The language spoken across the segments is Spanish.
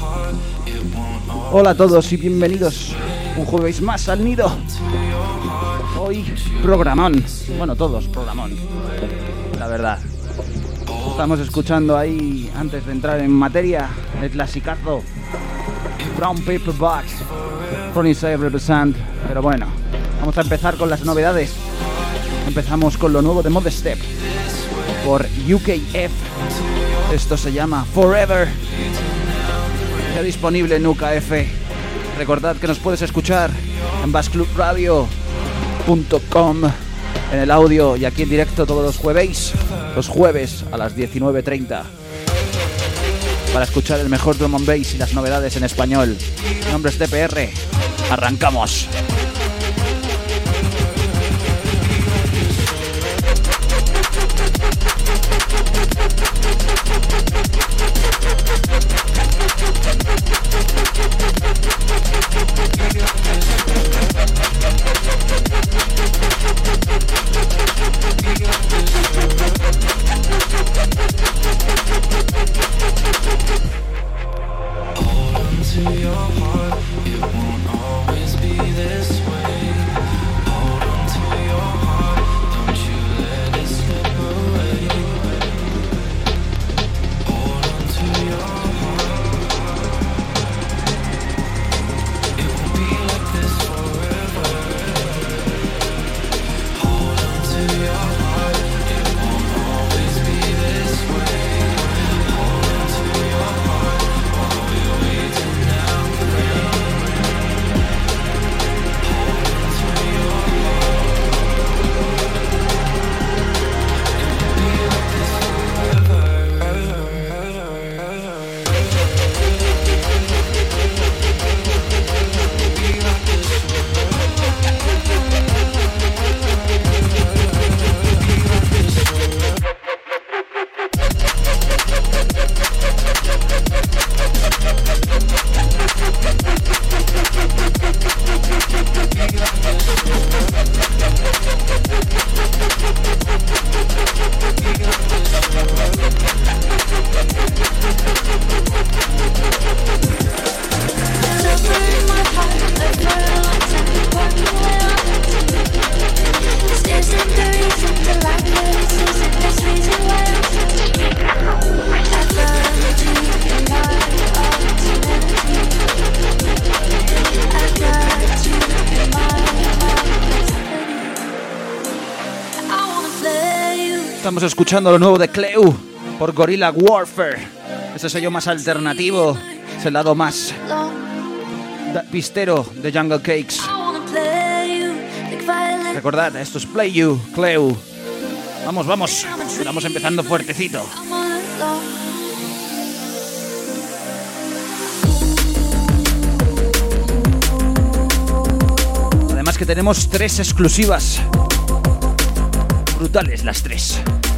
Hola a todos y bienvenidos un jueves más al nido. Hoy programón, bueno, todos programón, la verdad. Estamos escuchando ahí, antes de entrar en materia, el clasicazo Brown Paper Bag, From Inside Represent. Pero bueno, vamos a empezar con las novedades. Empezamos con lo nuevo de Modestep por UKF. Esto se llama Forever. Ya disponible en UKF. Recordad que nos puedes escuchar en bassclubradio.com en el audio y aquí en directo todos los jueves a las 19:30 para escuchar el mejor drum and bass y las novedades en español. Mi nombre es DPR. Arrancamos. Estamos escuchando lo nuevo de Cleu por Gorilla Warfare. Ese sello más alternativo, es el lado más pistero de Jungle Cakes. Recordad, esto es Play You, Cleu. Vamos, estamos empezando fuertecito. Además que tenemos 3 exclusivas. Brutales las 3.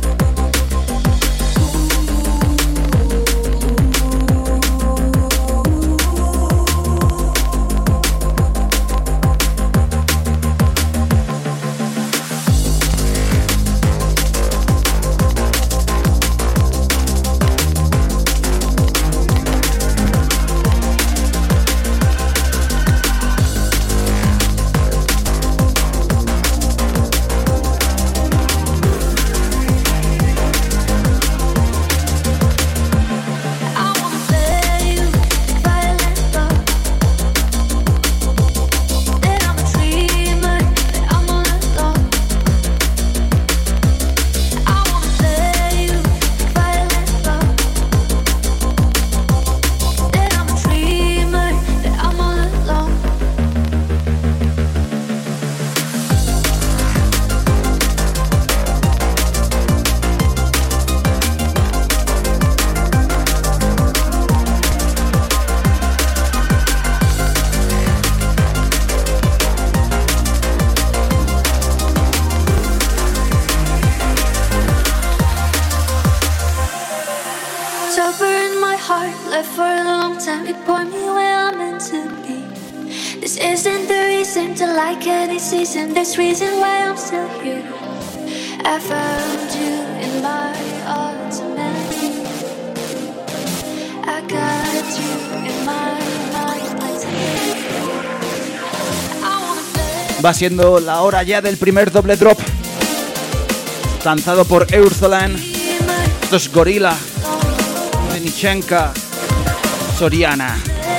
Season, this reason why I'm still here. I found you in my ultimate. I got Va siendo la hora ya del primer doble drop, lanzado por Eurzolan. Esto es Gorilla, Denichenka, Soriana.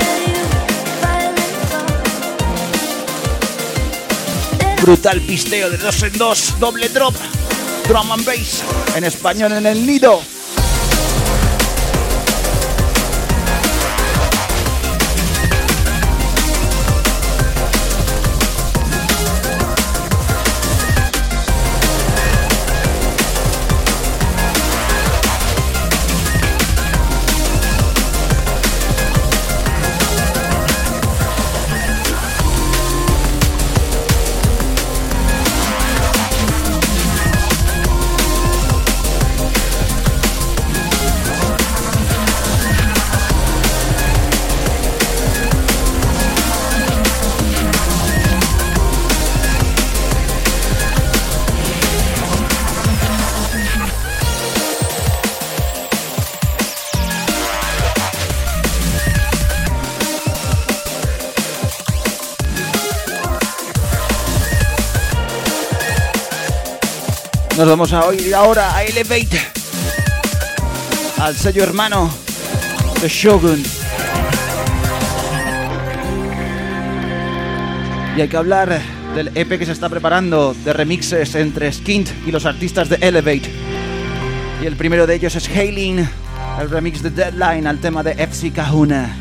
Brutal pisteo de 2 en 2, doble drop, drum and bass, en español en el nido. Nos vamos a oír ahora a Elevate, al sello hermano de Shogun. Y hay que hablar del EP que se está preparando de remixes entre Skint y los artistas de Elevate. Y el primero de ellos es Hailing, el remix de Deadline al tema de FC Kahuna.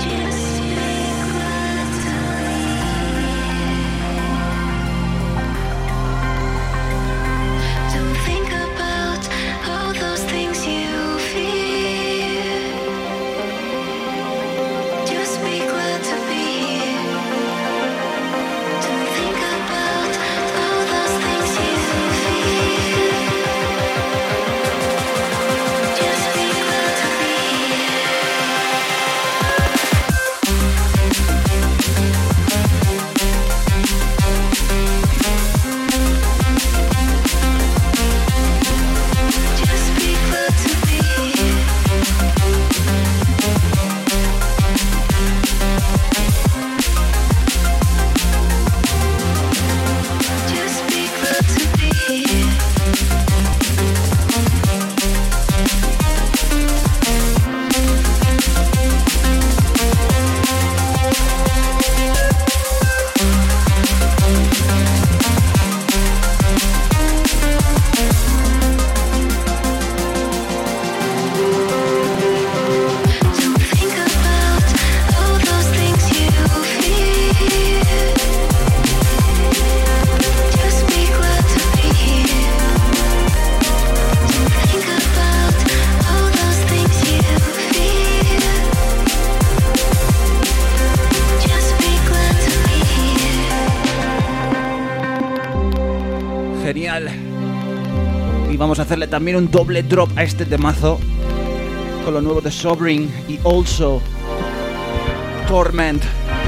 Y vamos a hacerle también un doble drop a este temazo con lo nuevo de Sobering y Also Torment.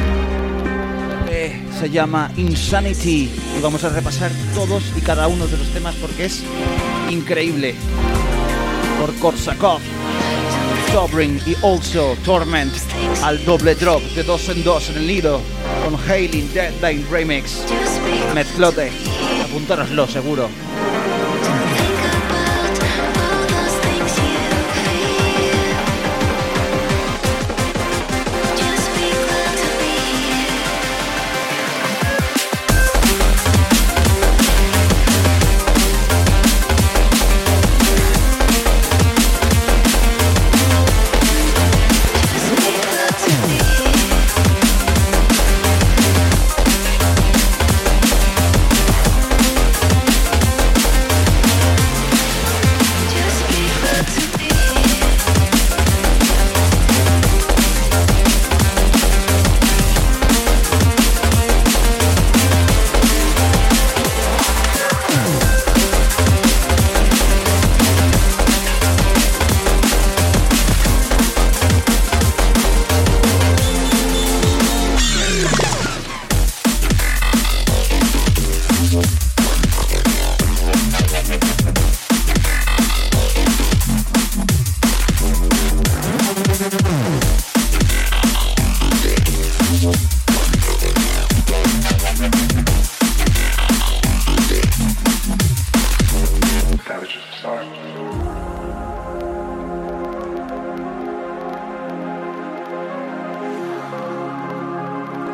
Se llama Insanity y vamos a repasar todos y cada uno de los temas porque es increíble. Por Korsakov, Sobering y Also Torment al doble drop de 2 en 2 en el nido con Hailing Deadline Remix. Mezclote, apuntároslo seguro.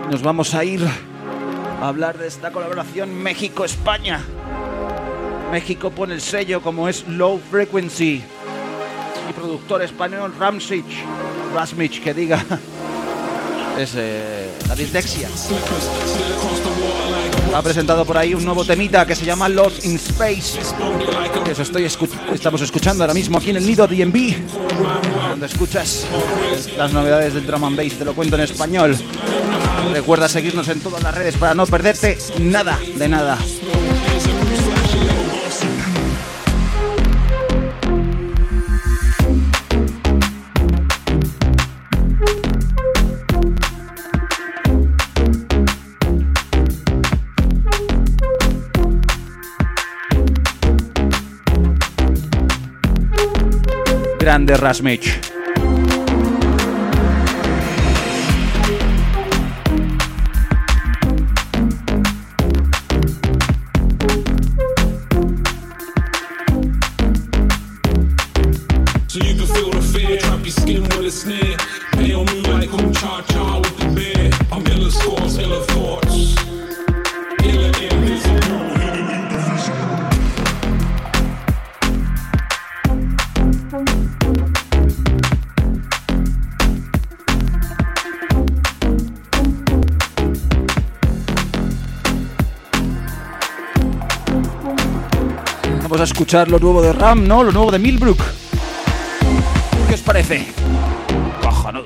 Nos vamos a ir a hablar de esta colaboración México-España. México pone el sello como es Low Frequency. Y productor español Rasmich, que diga, es la dislexia. Ha presentado por ahí un nuevo temita que se llama Lost in Space, que eso estamos escuchando ahora mismo aquí en el Nido DnB, donde escuchas las novedades del drum and bass. Te lo cuento en español. Recuerda seguirnos en todas las redes para no perderte nada de nada. Grande Rasmich. Vamos a escuchar lo nuevo de Ram, ¿no? Lo nuevo de Millbrook. ¿Qué os parece? Cojonudo.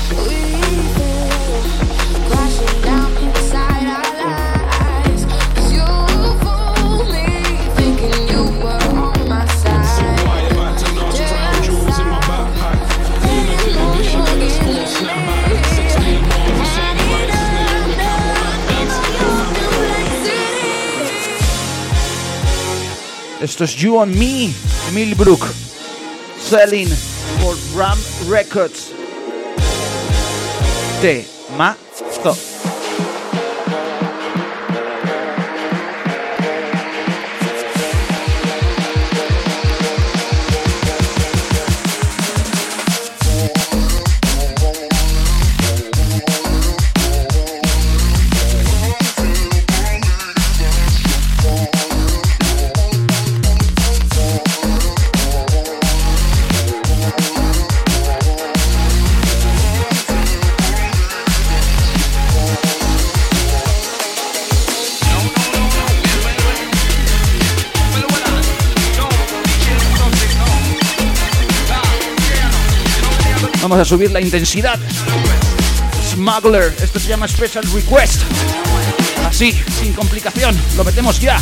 Esto es You and Me, Millbrook, selling for Ram Records. Temazo. Vamos a subir la intensidad. Smuggler, esto se llama Special Request. Así, sin complicación, lo metemos ya.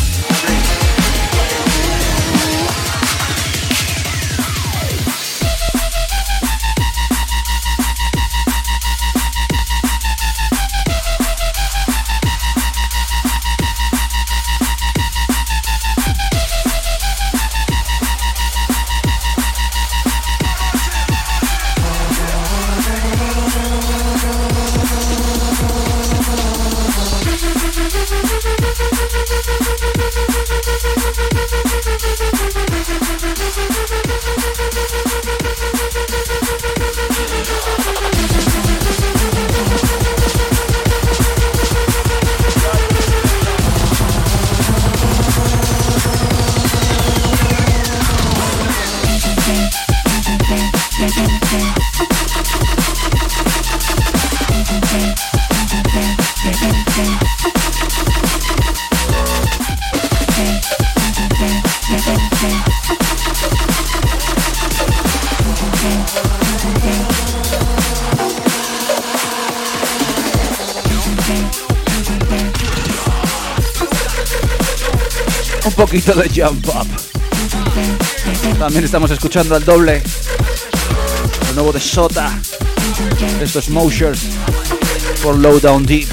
Un poquito de jump up. También estamos escuchando al doble lo nuevo de Sota. Esto es Moshers por Low Down Deep.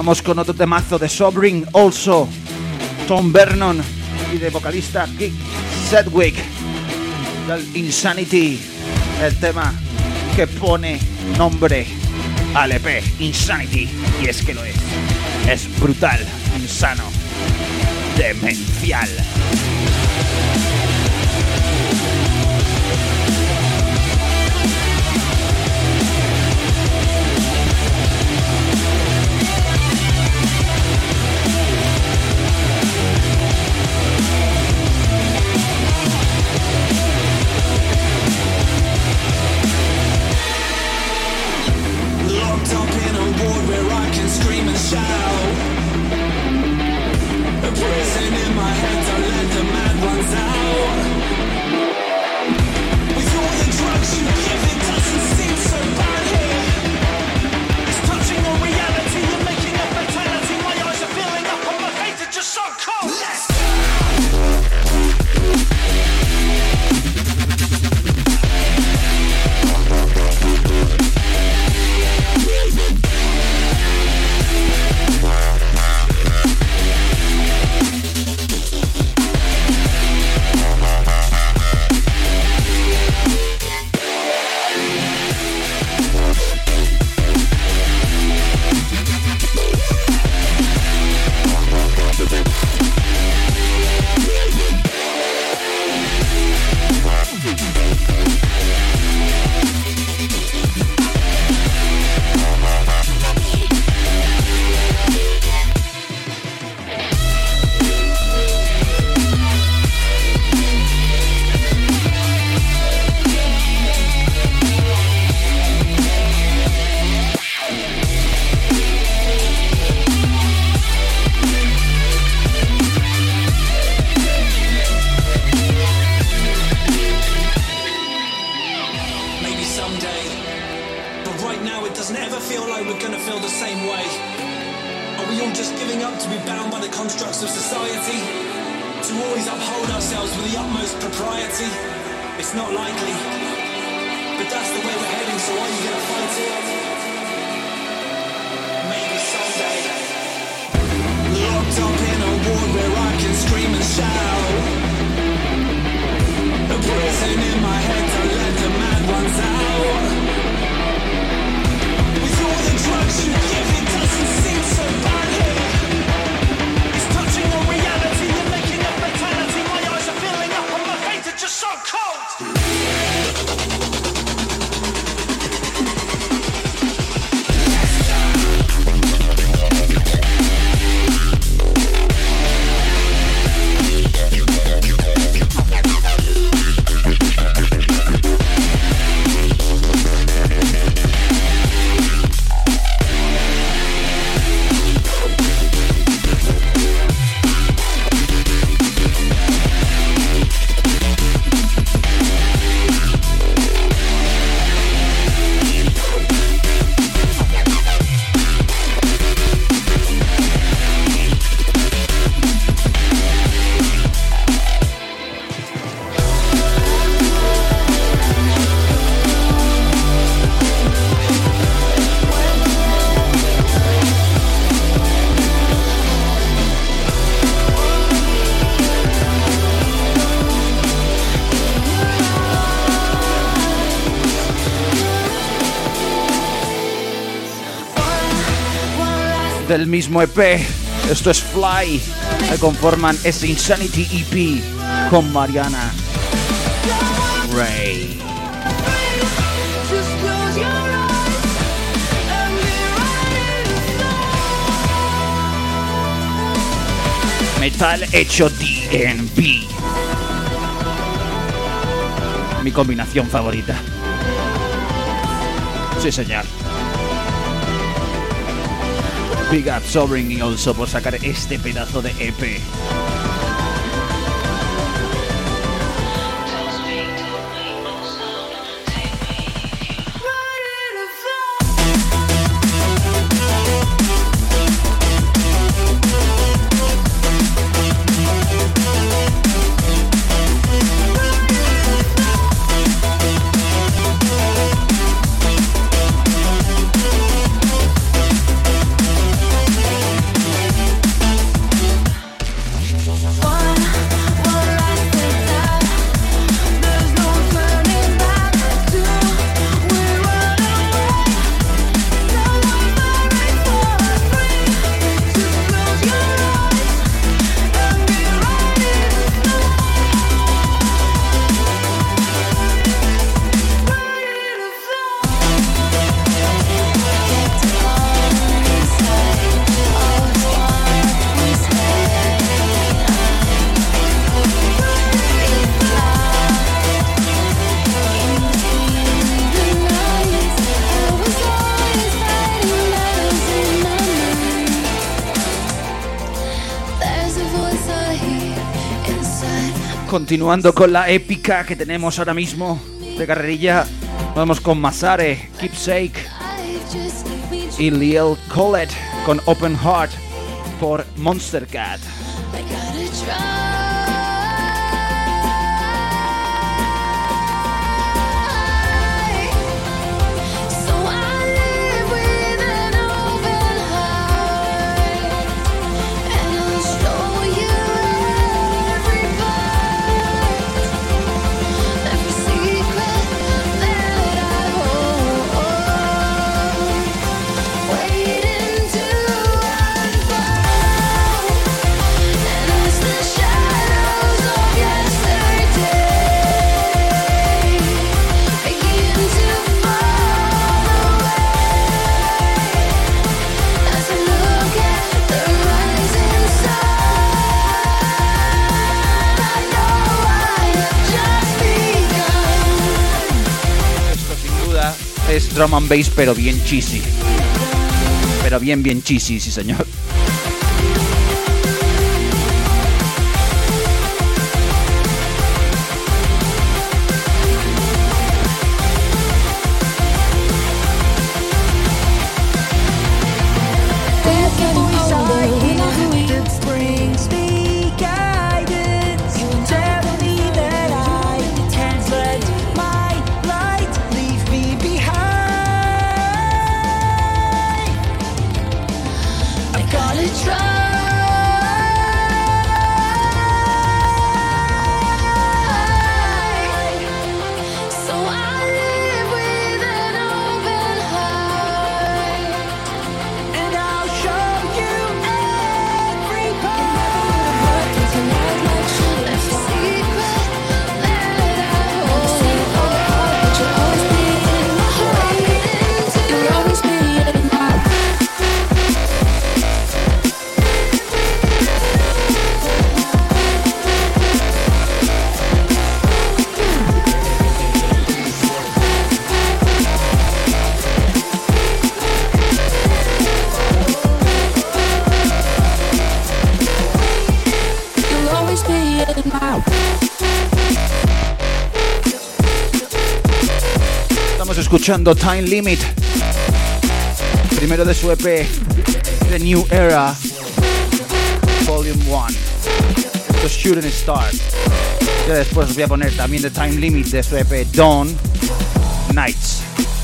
Vamos con otro temazo de Sobering, Also, Tom Vernon y de vocalista Keith Sedgwick, del Insanity, el tema que pone nombre al EP, Insanity, y es que lo es brutal, insano, demencial. Del mismo EP, esto es Fly, que conforman ese Insanity EP con Mariana Ray. Metal hecho DnB, mi combinación favorita. Sí, señor. Big up Sobering y Also por sacar este pedazo de EP. Continuando con la épica que tenemos ahora mismo de carrerilla, vamos con Masare, Keepsake y Liel Collet con Open Heart por Monster Cat. Es drum and bass, pero bien cheesy. Pero bien cheesy, sí señor. Escuchando Time Limit, primero de su EP The New Era Volume 1. Esto es Shooting Star. Ya después os voy a poner también The Time Limit de su EP Dawn Nights.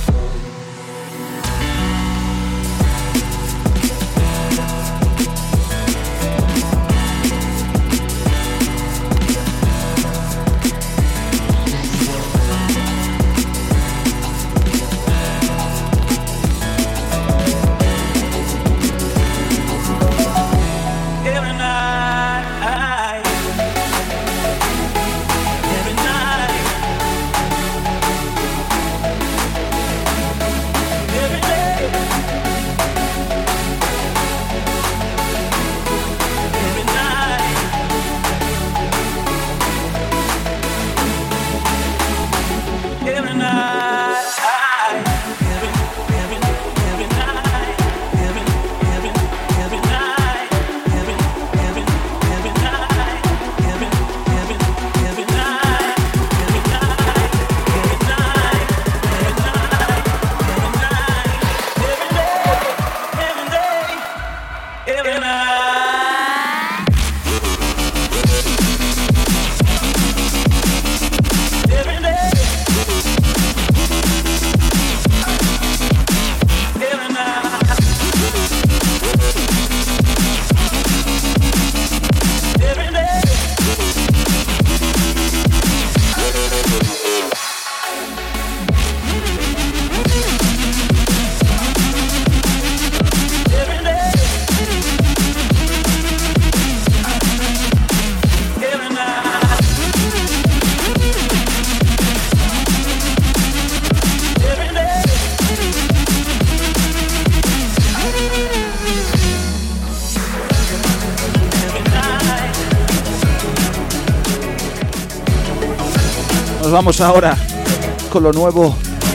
Nos vamos ahora con lo nuevo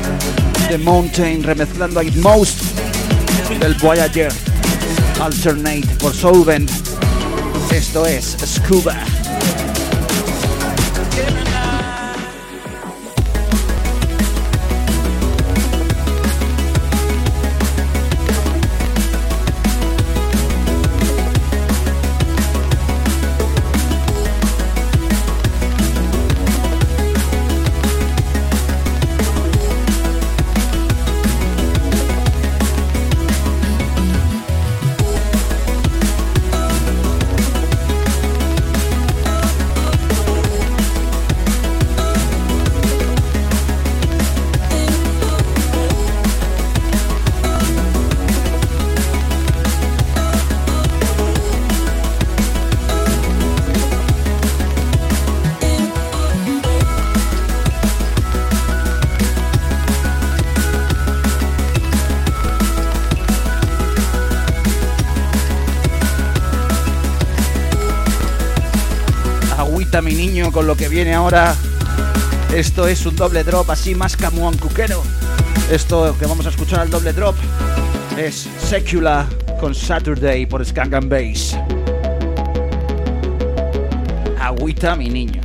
de Mountain, remezclando a Itmost del Voyager Alternate por Solvent. Esto es Scuba. Agüita mi niño con lo que viene ahora. Esto es un doble drop así más camuón cuquero. Esto que vamos a escuchar al doble drop es Secular con Saturday por Skunk and Bass. Agüita mi niño.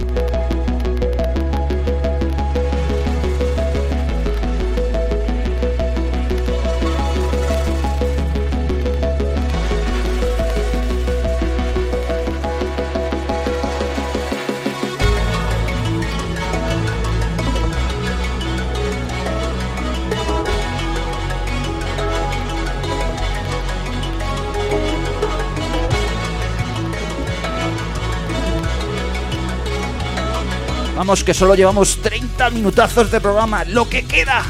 Vamos, que solo llevamos 30 minutazos de programa, lo que queda.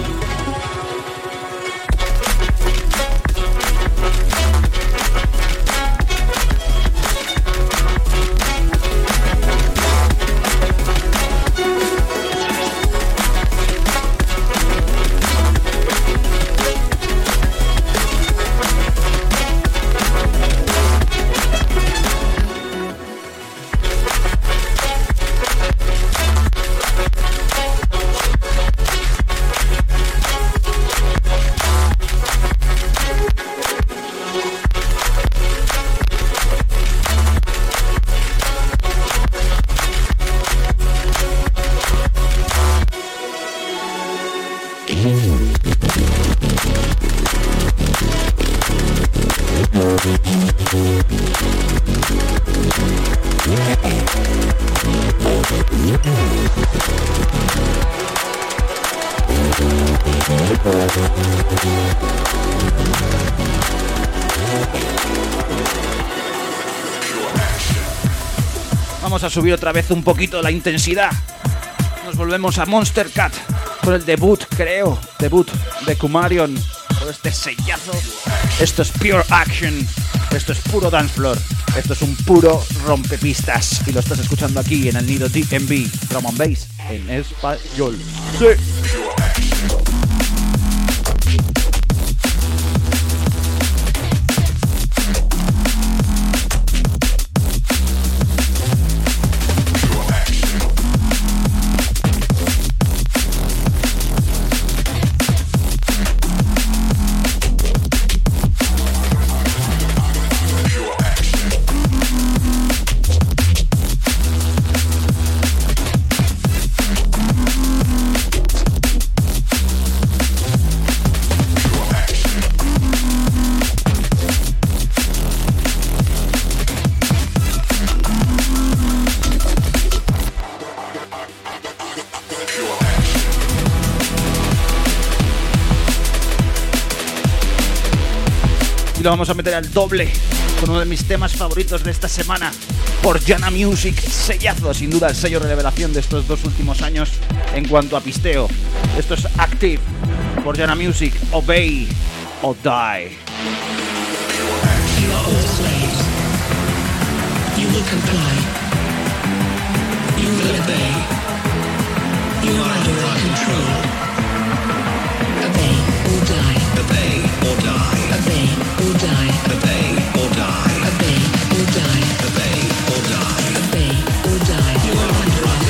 Vamos a subir otra vez un poquito la intensidad. Nos volvemos a Monster Cat por el debut de Kumarion, por este sellazo. Esto es Pure Action, esto es puro dance floor, esto es un puro rompepistas y lo estás escuchando aquí en el Nido DMV, Drum and Bass en español. Sí. Y lo vamos a meter al doble con uno de mis temas favoritos de esta semana por Jana Music, sellazo, sin duda el sello de revelación de estos 2 últimos años en cuanto a pisteo. Esto es Active por Jana Music, Obey or Die. You are all slaves. You will comply. You will obey. You are under our control. Obey or die. Obey or die. Obey or die. Obey or die. Obey or die. Obey or die. Obey or die. You are under our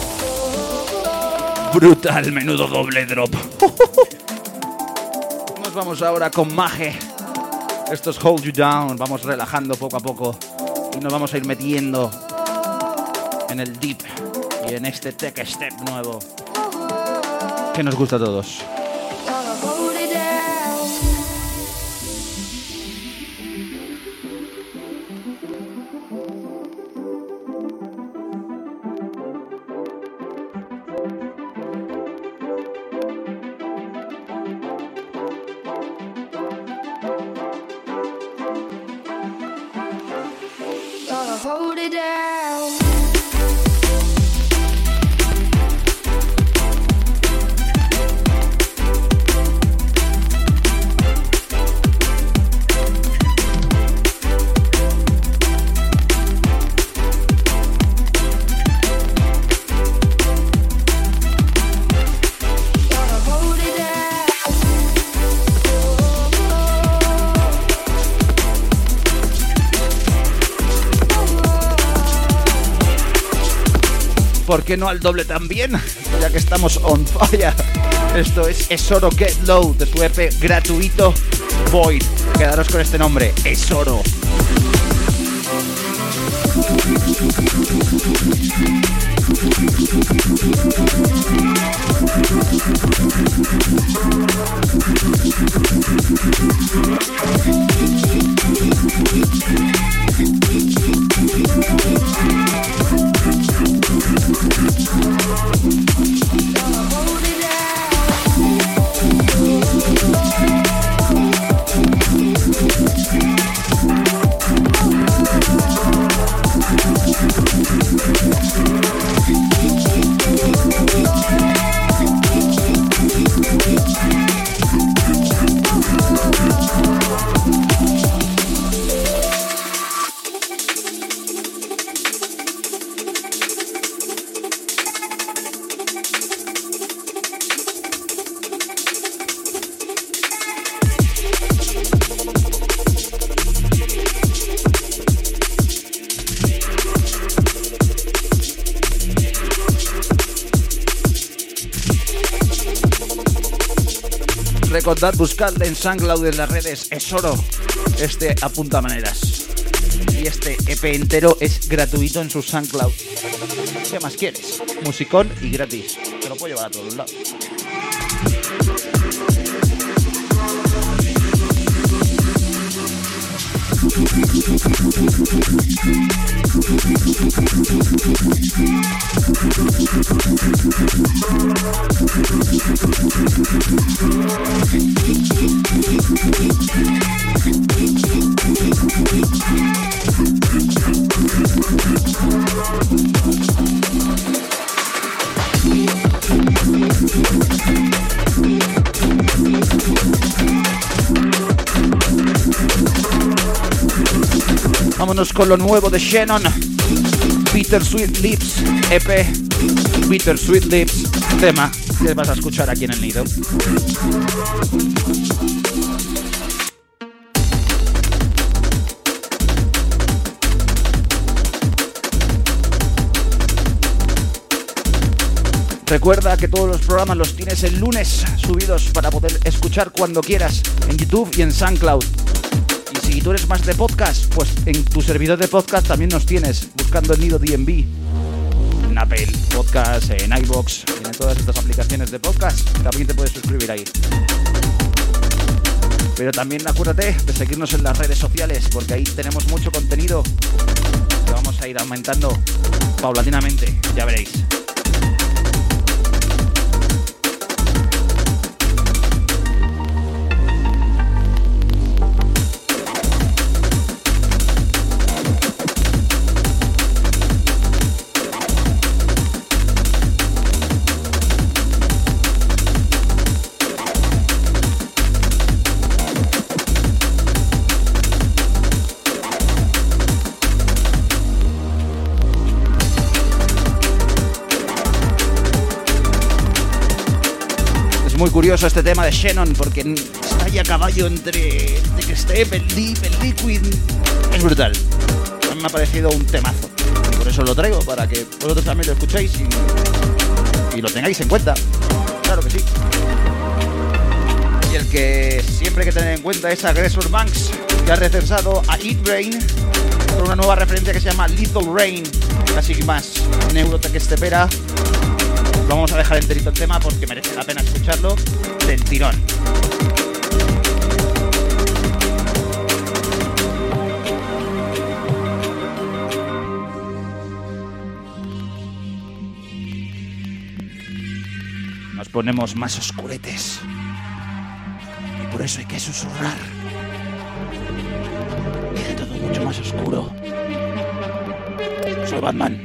Brutal, menudo doble drop. vamos ahora con Mage. Esto es Hold You Down. Vamos relajando poco a poco y nos vamos a ir metiendo en el deep y en este tech step nuevo que nos gusta a todos. Hold it down. ¿Por qué no al doble también? Ya que estamos on fire. Esto es Esoro Get Low de su EP gratuito Void. Quedaros con este nombre, Esoro. Recordad, buscadle en SoundCloud en las redes, Esoro. Este apunta maneras. Y este EP entero es gratuito en su SoundCloud. ¿Qué más quieres? Musicón y gratis. Te lo puedo llevar a todos lados. Vámonos con lo nuevo de Shannon, Bittersweet Lips, EP, Bittersweet Lips, tema que vas a escuchar aquí en el nido. Recuerda que todos los programas los tienes el lunes subidos para poder escuchar cuando quieras en YouTube y en SoundCloud. Y si tú eres más de podcast, pues en tu servidor de podcast también nos tienes, buscando el nido DNB. En Apple Podcast, en iVoox, en todas estas aplicaciones de podcast, también te puedes suscribir ahí. Pero también acuérdate de seguirnos en las redes sociales, porque ahí tenemos mucho contenido que vamos a ir aumentando paulatinamente, ya veréis. Muy curioso este tema de Shannon porque está ahí a caballo entre Tech Step, el Deep, el Liquid. Es brutal. A mí me ha parecido un temazo. Y por eso lo traigo, para que vosotros también lo escuchéis y lo tengáis en cuenta. Claro que sí. Y el que siempre hay que tener en cuenta es Aggressor Banks, que ha recensado a Eat Rain con una nueva referencia que se llama Lethal Rain, casi más neurota que estepera. Lo vamos a dejar enterito el tema porque merece la pena escucharlo del tirón. Nos ponemos más oscuretes y por eso hay que susurrar. Queda todo mucho más oscuro. Soy Batman.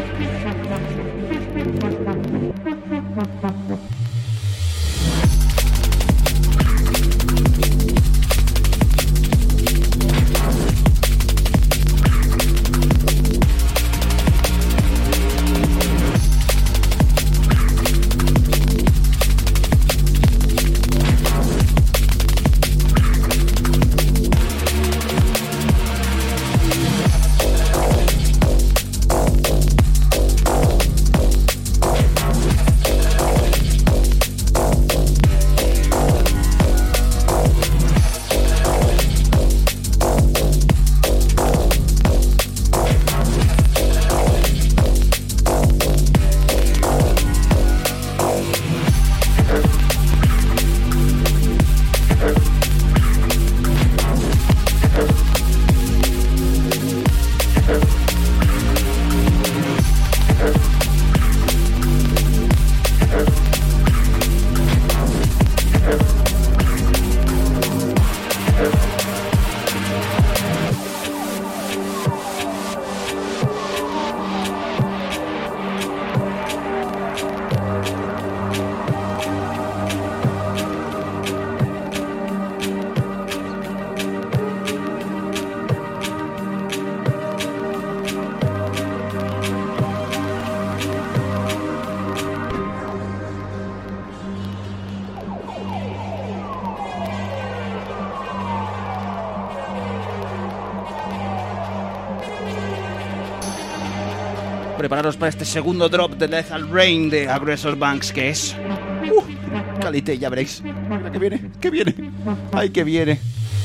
Prepararos para este segundo drop de Lethal Rain de Aggressor Banks, que es... calité, ya veréis. Mira que viene, que viene. Ay, que viene.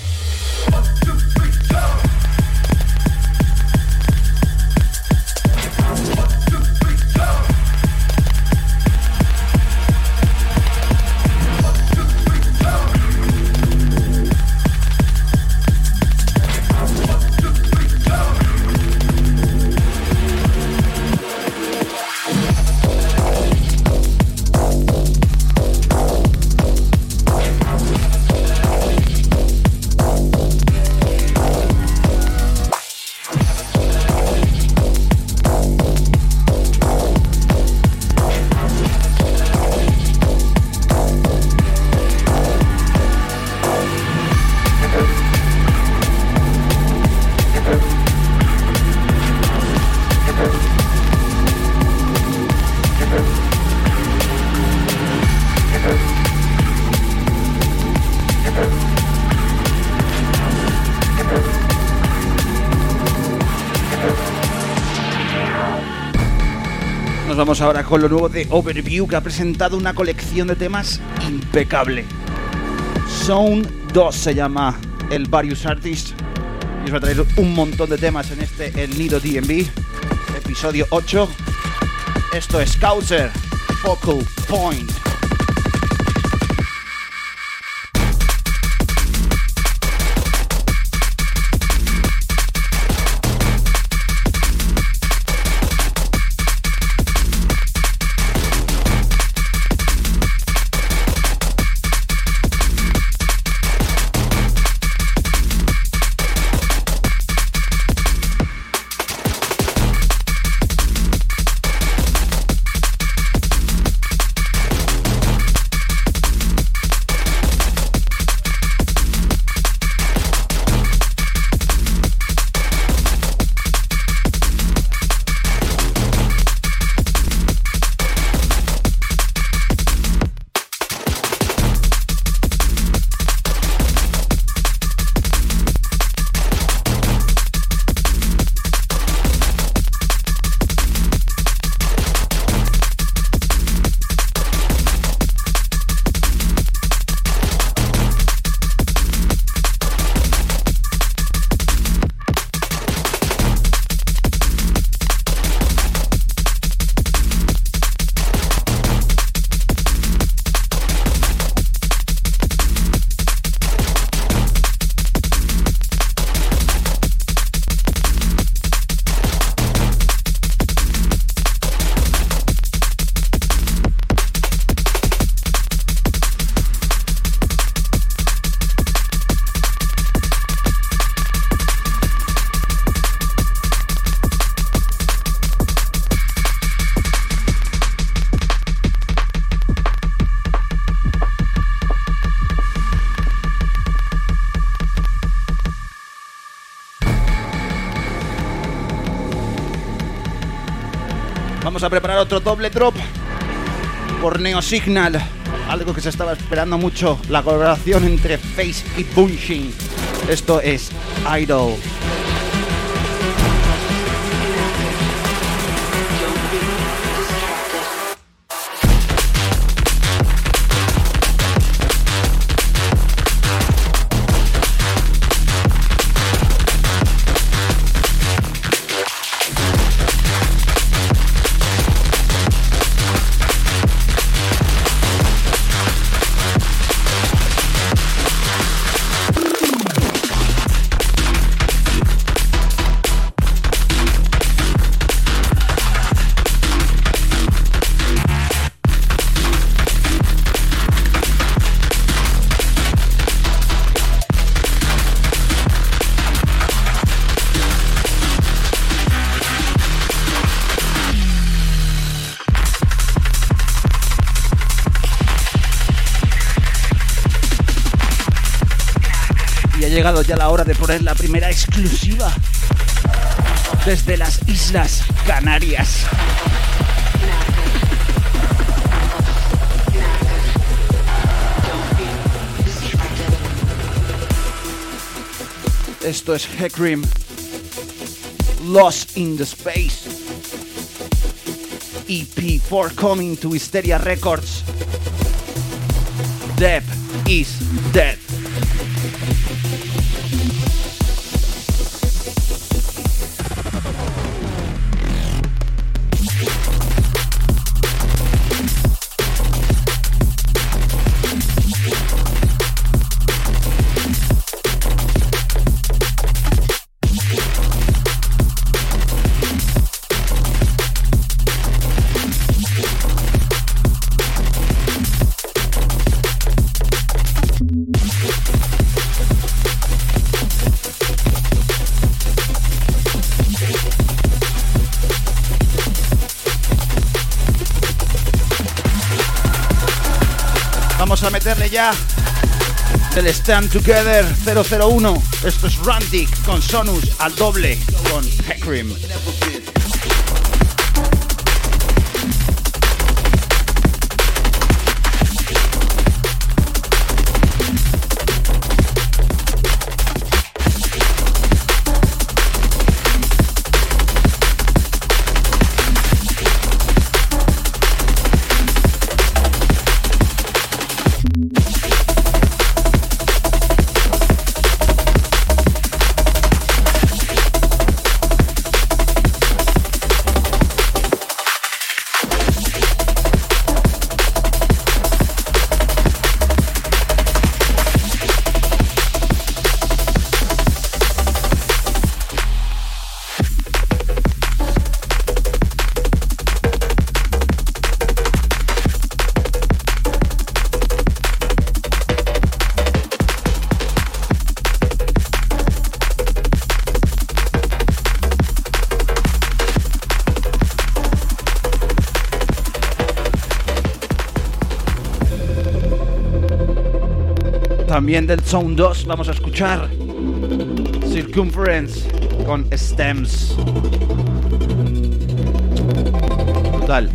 Vamos ahora con lo nuevo de Overview, que ha presentado una colección de temas impecable. Zone 2 se llama el Various Artists y os va a traer un montón de temas en este El Nido DnB, episodio 8. Esto es Causer, Focal Point. Vamos a preparar otro doble drop por Neo Signal, algo que se estaba esperando mucho, la colaboración entre Face y Bunching. Esto es Idol. Llegado ya la hora de poner la primera exclusiva desde las Islas Canarias. Esto es Hekrim, Lost in the Space, EP forthcoming to Hysteria Records. Death is Dead. Vamos a meterle ya del Stand Together 001. Esto es Rantic con Sonus al doble con Hekrim. También del Zone 2 vamos a escuchar Circumference con Stems. Brutal.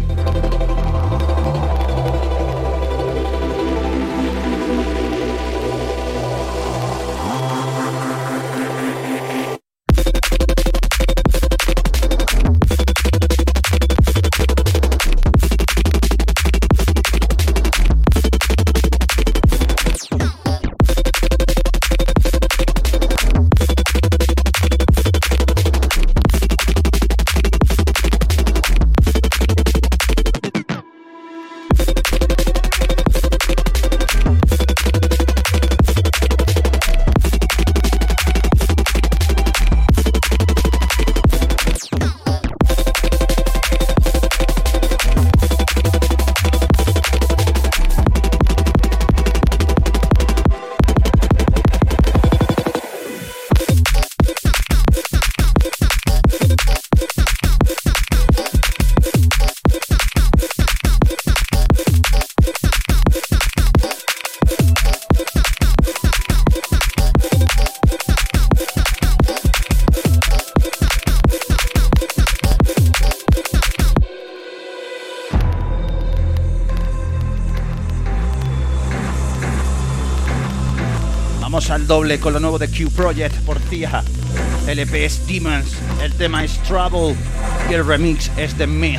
al doble con lo nuevo de Q Project por Tia. El EP es Demons, el tema es Trouble y el remix es The Myth.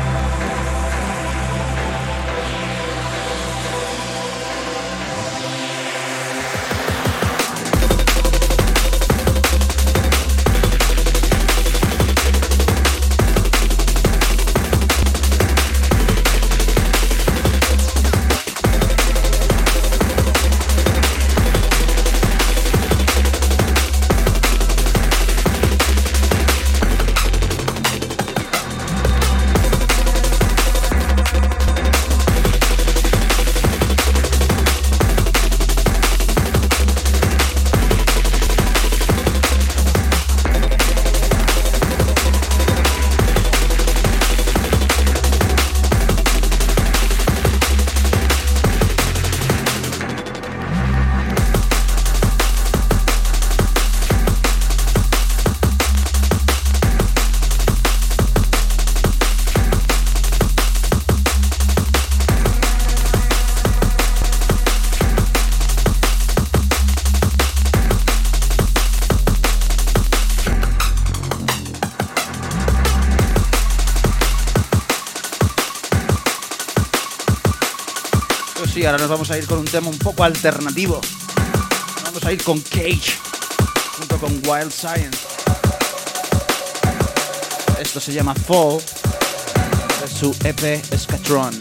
Sí, ahora nos vamos a ir con un tema un poco alternativo. Vamos a ir con Cage junto con Wild Science. Esto se llama Fall, de su EP Scatron.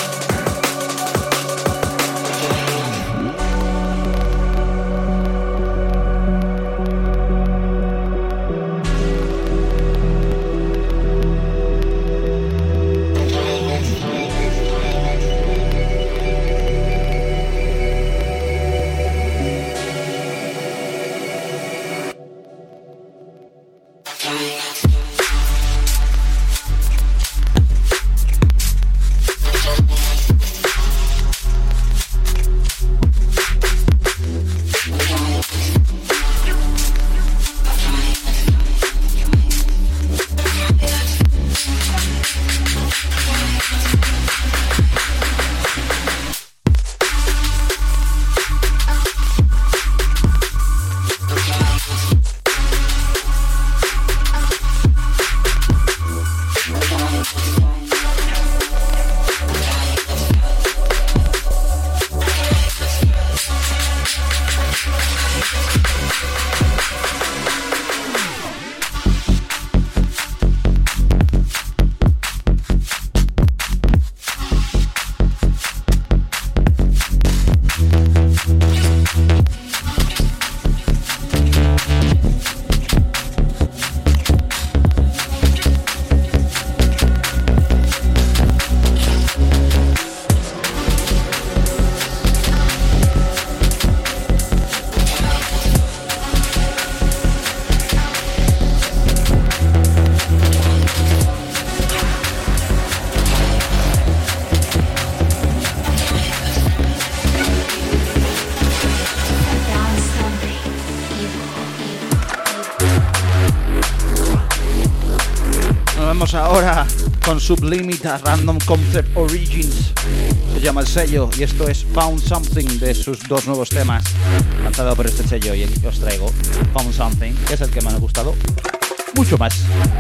Ahora con Sublimita Random Concept Origins, se llama el sello, y esto es Found Something, de sus dos nuevos temas lanzado por este sello, y os traigo Found Something, que es el que me ha gustado mucho más.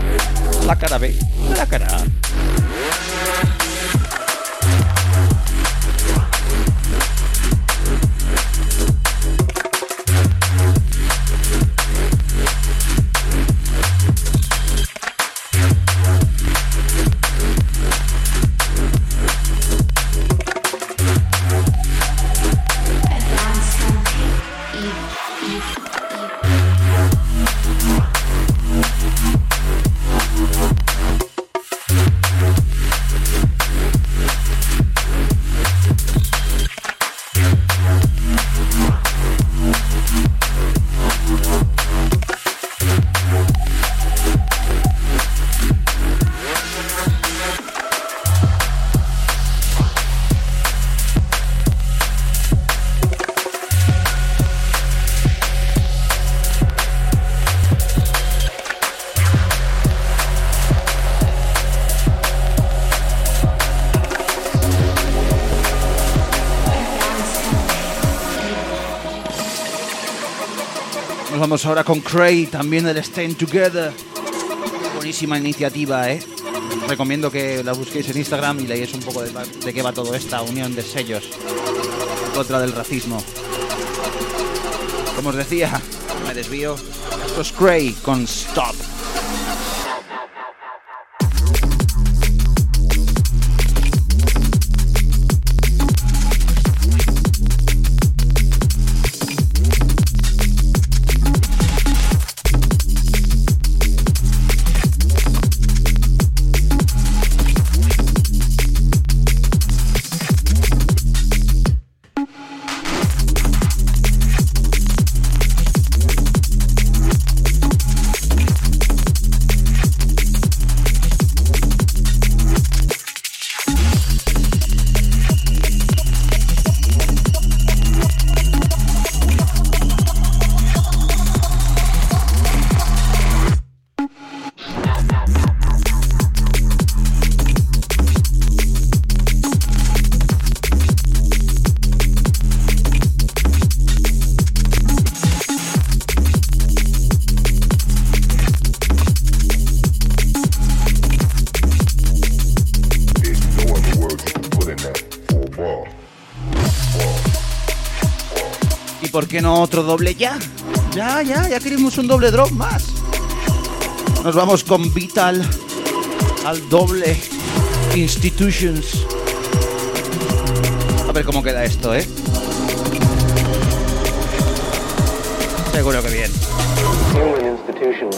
La cara B, la cara A. Vamos ahora con Cray, también del Stand Together. Buenísima iniciativa, ¿eh? Os recomiendo que la busquéis en Instagram y leáis un poco de qué va toda esta unión de sellos en contra del racismo. Como os decía, me desvío. Esto es Cray con Stop. ¿Por qué no otro doble ya? Ya queremos un doble drop más. Nos vamos con Vital al doble Institutions. A ver cómo queda esto, ¿eh? Seguro que bien. Human Institutions.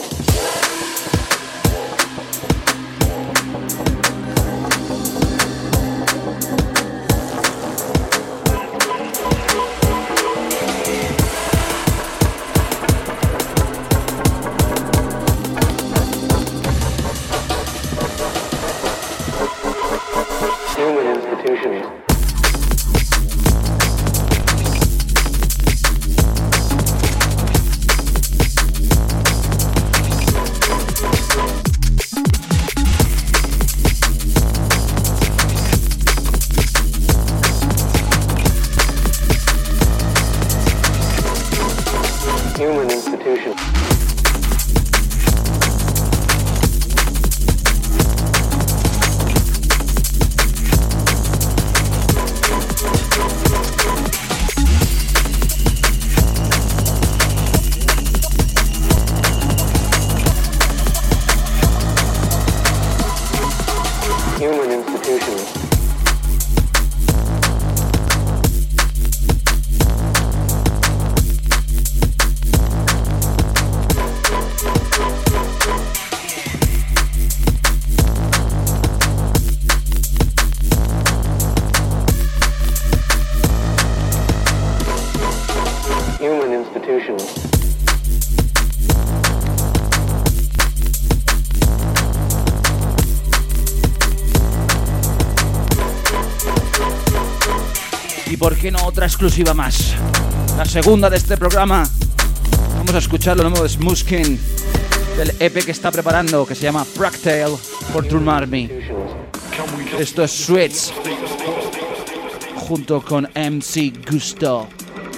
Y por qué no otra exclusiva más, la segunda de este programa. Vamos a escuchar lo nuevo de Smoothskin, del EP que está preparando, que se llama Fractal for Drum Army. Esto es Sweets junto con MC Gusto.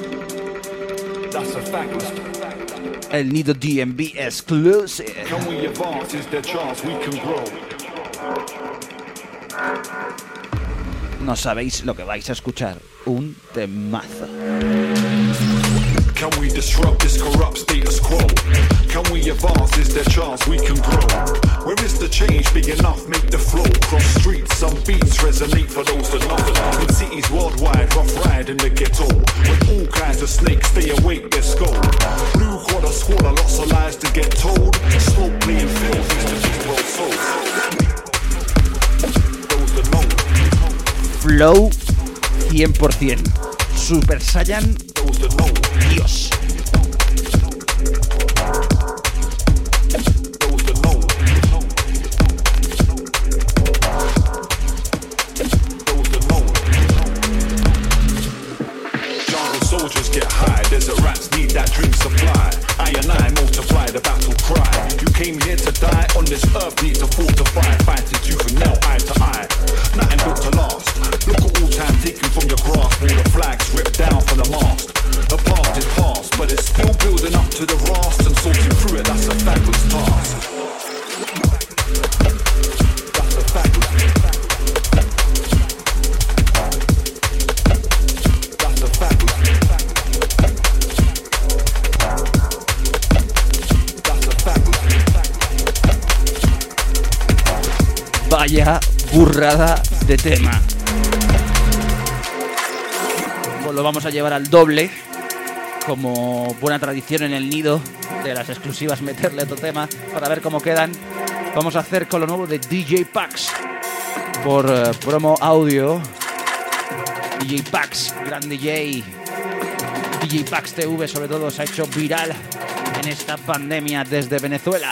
El Nido DMV exclusive. No sabéis lo que vais a escuchar. Un temazo. Can we disrupt this corrupt status quo? Can we advance? Is there chance we can grow? Where is the change big enough? Make the flow. Cross streets, some beats resonate for those that know. In cities worldwide, rough ride in the ghetto. With all kinds of snakes, stay awake, let's go. Blue quarter squatter, lots of lies to get told. Smoke playing field, used to be well sold. Those that know. Flow 100%. Super Saiyan. Dios. Soldiers get high, desert rats need that drink supply. I and I multiply the battle cry. You came here to die, on this earth need to fortify. Fighting tooth and nail, eye to eye. Nothing built to last. Look at all time taken from your grasp. All the flags ripped down from the mast. The past is past, but it's still building up to the rust. talking through it, that's a fabulous task. That's a fabulous. That's a fabulous. That's a fabulous. Vaya burrada de tema. Pues lo vamos a llevar al doble, como buena tradición en el nido de las exclusivas, meterle otro tema para ver cómo quedan. Vamos a hacer con lo nuevo de DJ Pax por promo audio. DJ Pax, gran DJ. DJ Pax TV sobre todo se ha hecho viral en esta pandemia desde Venezuela.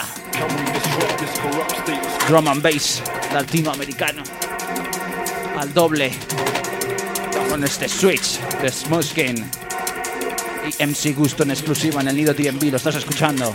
Drum and bass latinoamericano al doble con este switch de Smoothskin y MC Gusto en exclusiva en el Nido TNB. Lo estás escuchando.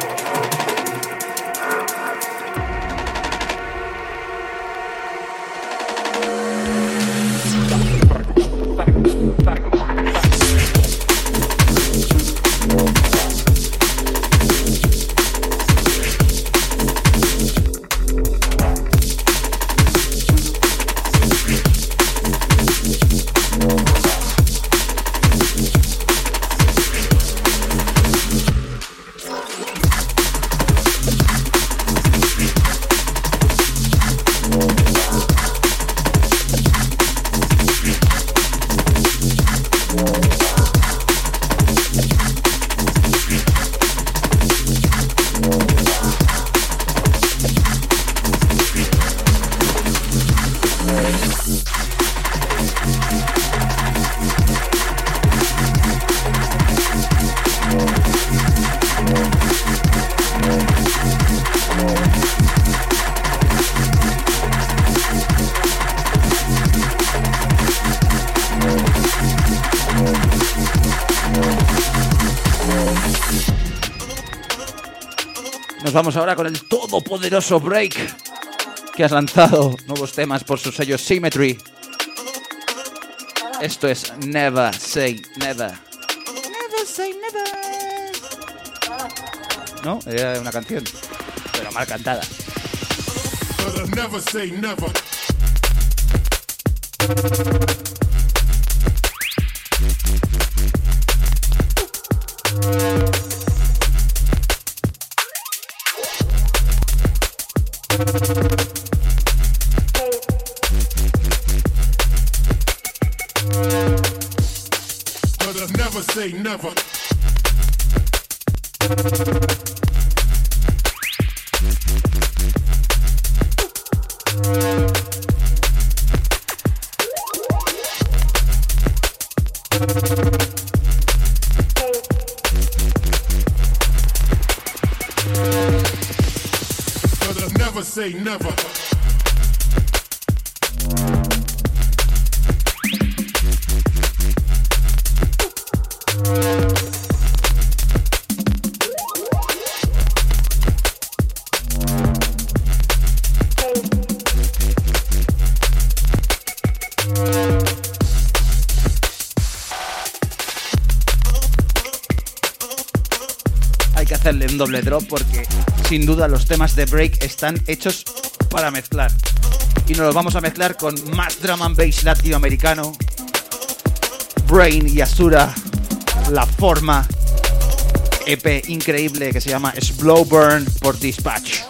Nos vamos ahora con el todopoderoso Break, que has lanzado nuevos temas por su sello Symmetry. Esto es Never Say Never. Never Say Never. No, era una canción, pero mal cantada. Never say never. Never say never. Never say never. Hay que hacerle un doble drop porque sin duda los temas de Break están hechos para mezclar. Y nos los vamos a mezclar con más drum and bass latinoamericano. Brain y Asura, La Forma, EP increíble que se llama Slow Burn por Dispatch.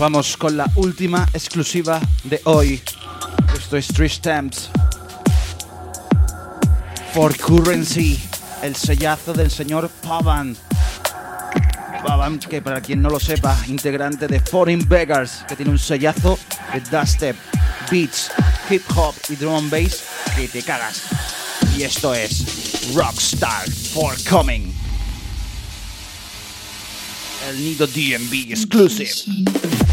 vamos con la última exclusiva de hoy. Esto es 3 Stamps for Currency, el sellazo del señor Pavan. Pavan, que para quien no lo sepa, integrante de Foreign Beggars, que tiene un sellazo de dubstep, beats, hip hop y drum and bass que te cagas. Y esto es Rockstar Forthcoming, el Nido DMV exclusive.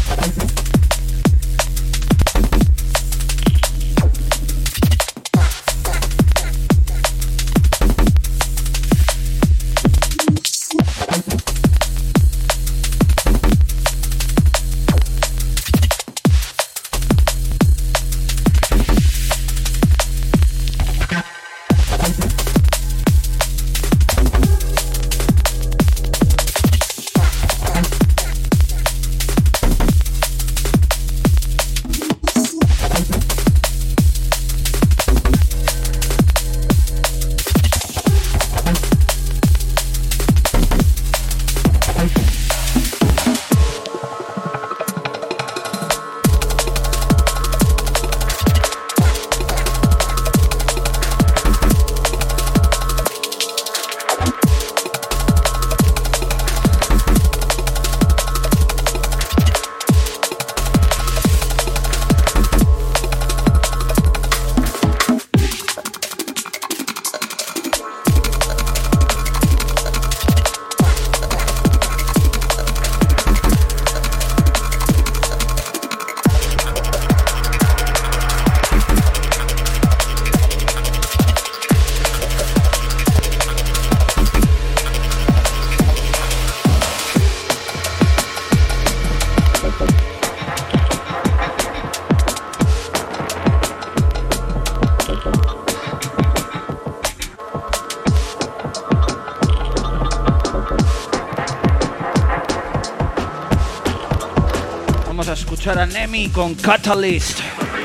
A Nemi con Catalyst.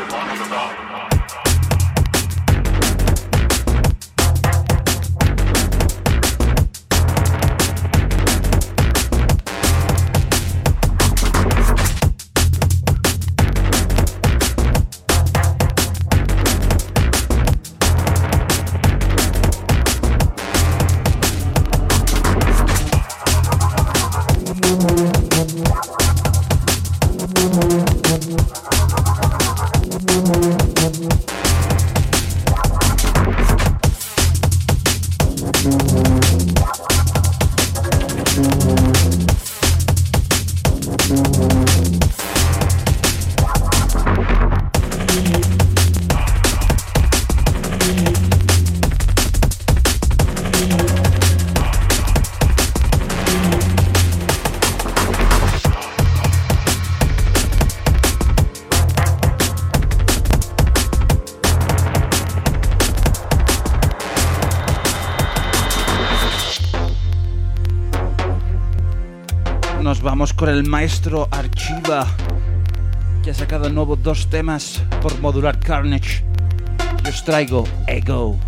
Nos vamos con el maestro Archiva, que ha sacado nuevos 2 temas por Modular Carnage. Yo os traigo Ego.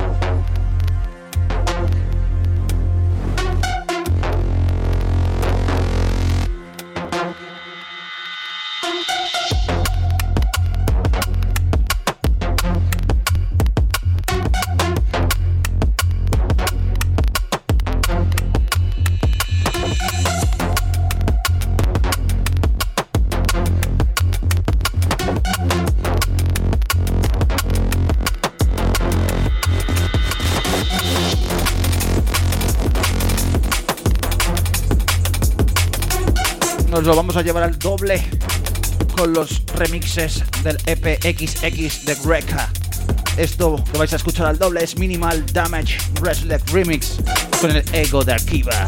Nos lo vamos a llevar al doble con los remixes del EP XX de Greca. Esto que vais a escuchar al doble es Minimal Damage Restless Remix con el Ego de Archiva.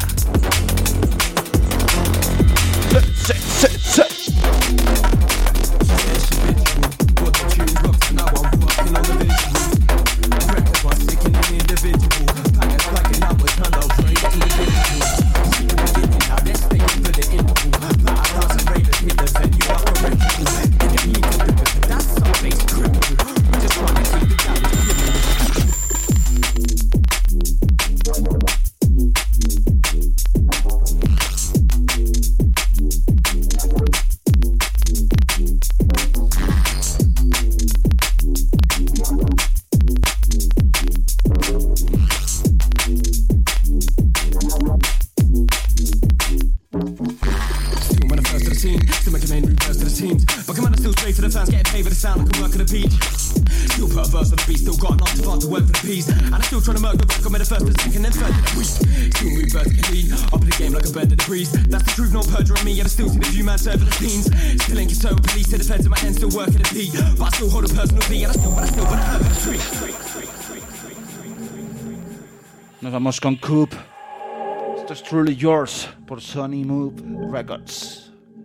But come on, I still straight to the fans, getting paid for the sound, I can work at the beach. Still put a verse on the beat, still got enough to far to work for the peas. And I'm still trying to murk the back, I'm in the first, the second, then third, then we still move vertically, up in the game like a bird at the breeze. That's the truth, no perjuring me, and I still see the view man serving the fiends. Still ain't concerned with police, to the feds in my hand, still working the beat. But I still hold a personal beat, and I still hurt the street. Nos vamos con Coop. Esto es Truly Yours por Sony Move Records.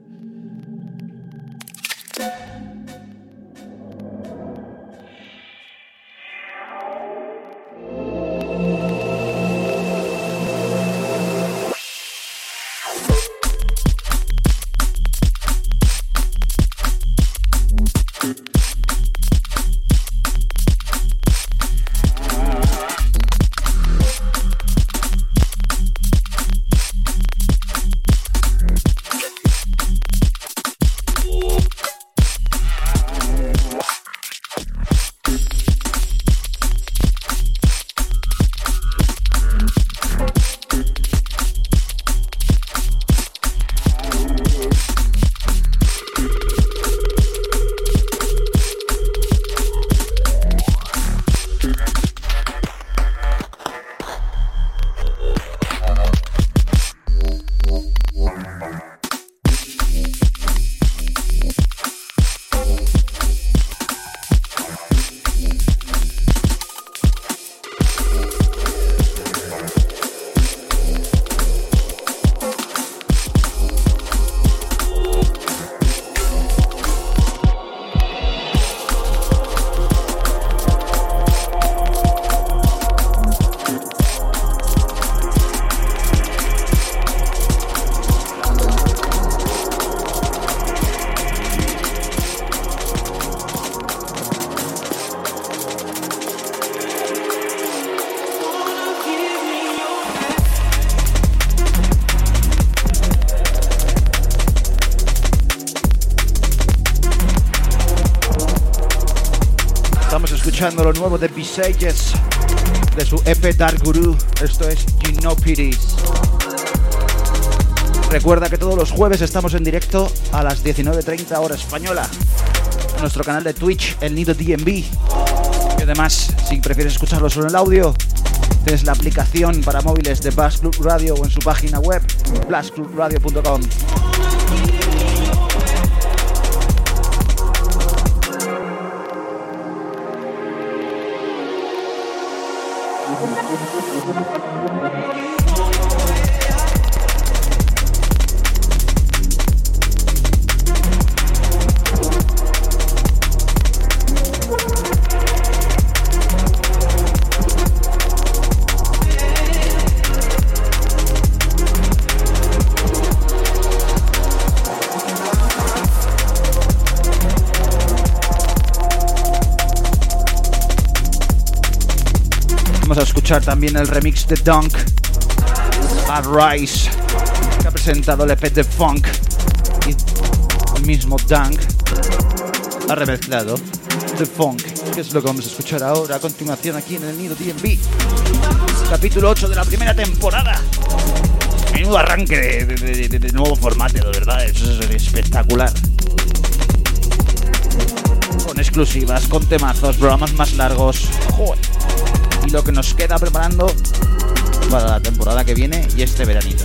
Escuchando lo nuevo de Visages de su EP Dark Guru. Esto es You Know Pities. Recuerda que todos los jueves estamos en directo a las 19:30 hora española en nuestro canal de Twitch, El Nido DNB. Y además, si prefieres escucharlo solo en el audio, tienes la aplicación para móviles de Blast Club Radio o en su página web blastclubradio.com. Vamos a escuchar también el remix de Dunk, Arise, que ha presentado el EP de Funk, y el mismo Dunk ha remezclado The Funk, que es lo que vamos a escuchar ahora a continuación aquí en el Nido DNB. Capítulo 8 de la primera temporada. Menudo arranque de nuevo formato, de verdad, eso es espectacular. Con exclusivas, con temazos, programas más largos. ¡Joder! Y lo que nos queda preparando para la temporada que viene y este veranito.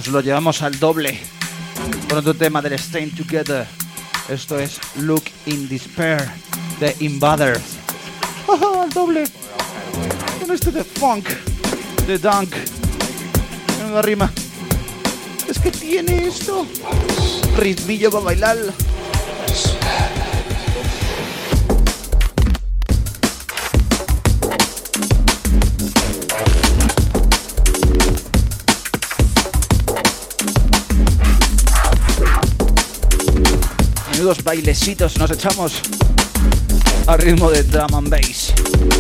lo llevamos al doble con otro tema del Staying Together. Esto es Look in Despair de Invaders. ¡Oh, al doble! Con este de funk, de dunk. Menuda rima. Es que tiene esto ritmillo para bailar. Menudos bailecitos nos echamos al ritmo de drum and bass.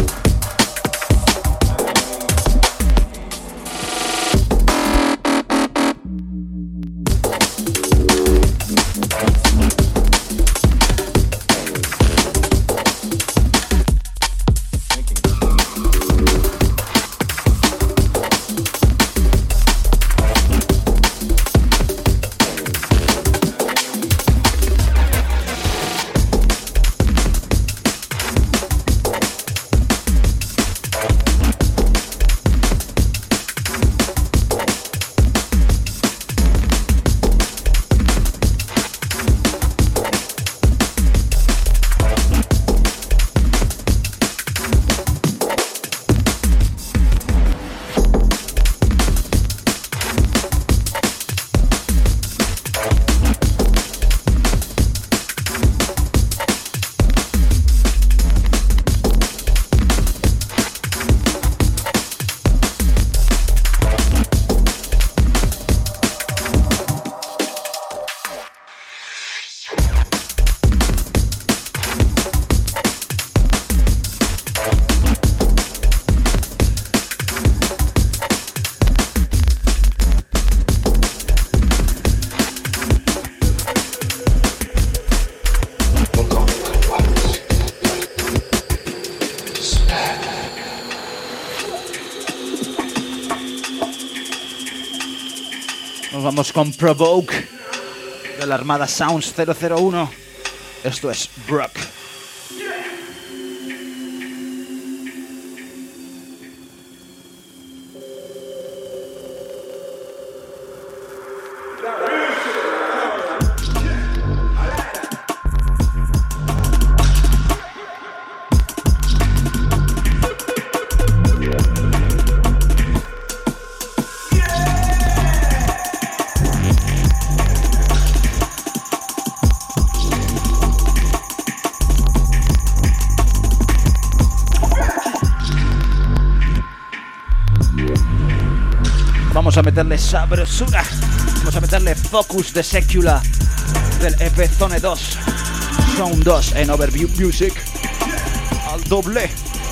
Vamos con Provoke de la Armada Sounds 001. Esto es Brock. Vamos a meterle sabrosura. Vamos a meterle Focus de Secular del EP Zone 2 Sound 2 en Overview Music al doble.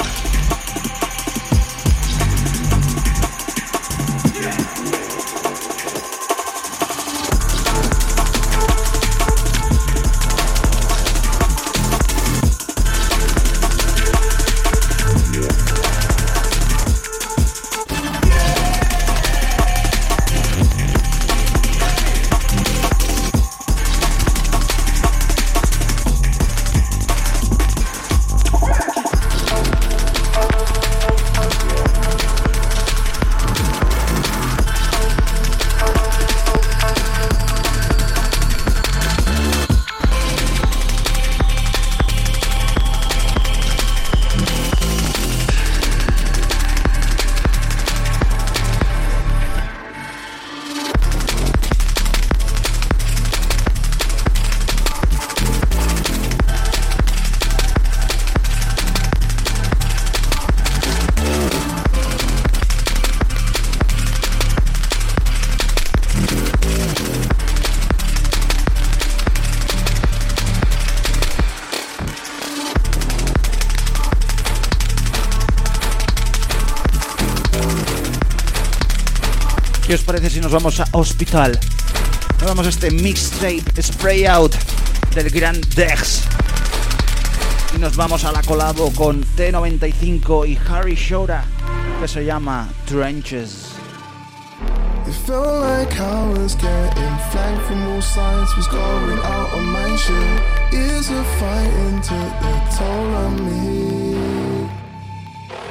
¿Qué os parece si nos vamos a Hospital? Nos vamos a este mixtape Spray Out del gran Dex. Y nos vamos a la colabo con T95 y Harry Shora, que se llama Trenches. It felt like I was getting flagged from all sides, was going out on my shit. Years of fighting took the toll on me.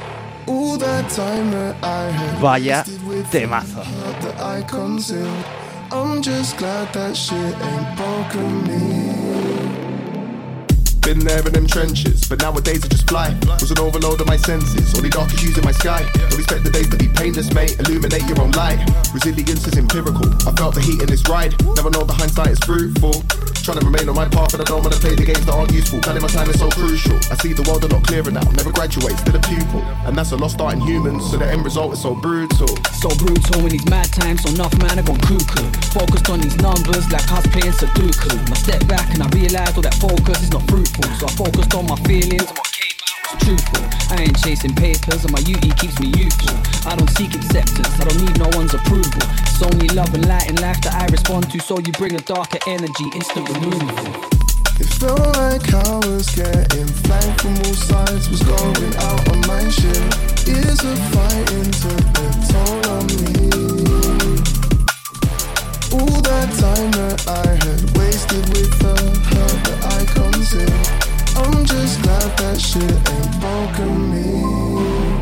All that time that I had Vaya wasted with temazo. hurt that I concealed. I'm just glad that shit ain't broken me. Been there in them trenches, but nowadays I just fly. Was an overload of my senses, only dark issues in my sky. Don't expect the days to be painless, mate. Illuminate your own light. Resilience is empirical. I felt the heat in this ride. Never know the hindsight is fruitful. Trying to remain on my path, and I don't want to play the games that aren't useful. Planning my time is so crucial. I see the world a lot clearer now. Never graduate, still a pupil, and that's a lost art in humans. So the end result is so brutal. So brutal in these mad times, so enough man, I gone cuckoo. Focused on these numbers like us playing Sudoku. I step back and I realised all that focus is not fruitful. So I focused on my feelings and what came out was truthful. I ain't chasing papers and my beauty keeps me youthful. I don't seek acceptance, I don't need no one's approval. It's only love and light in life that I respond to. So you bring a darker energy, instant removal. It felt like I was getting flanked from all sides. Was going out on my shit. Years of fighting took the toll on me. All that time that I had wasted with the hurt that I concealed. I'm just glad that shit ain't broken me.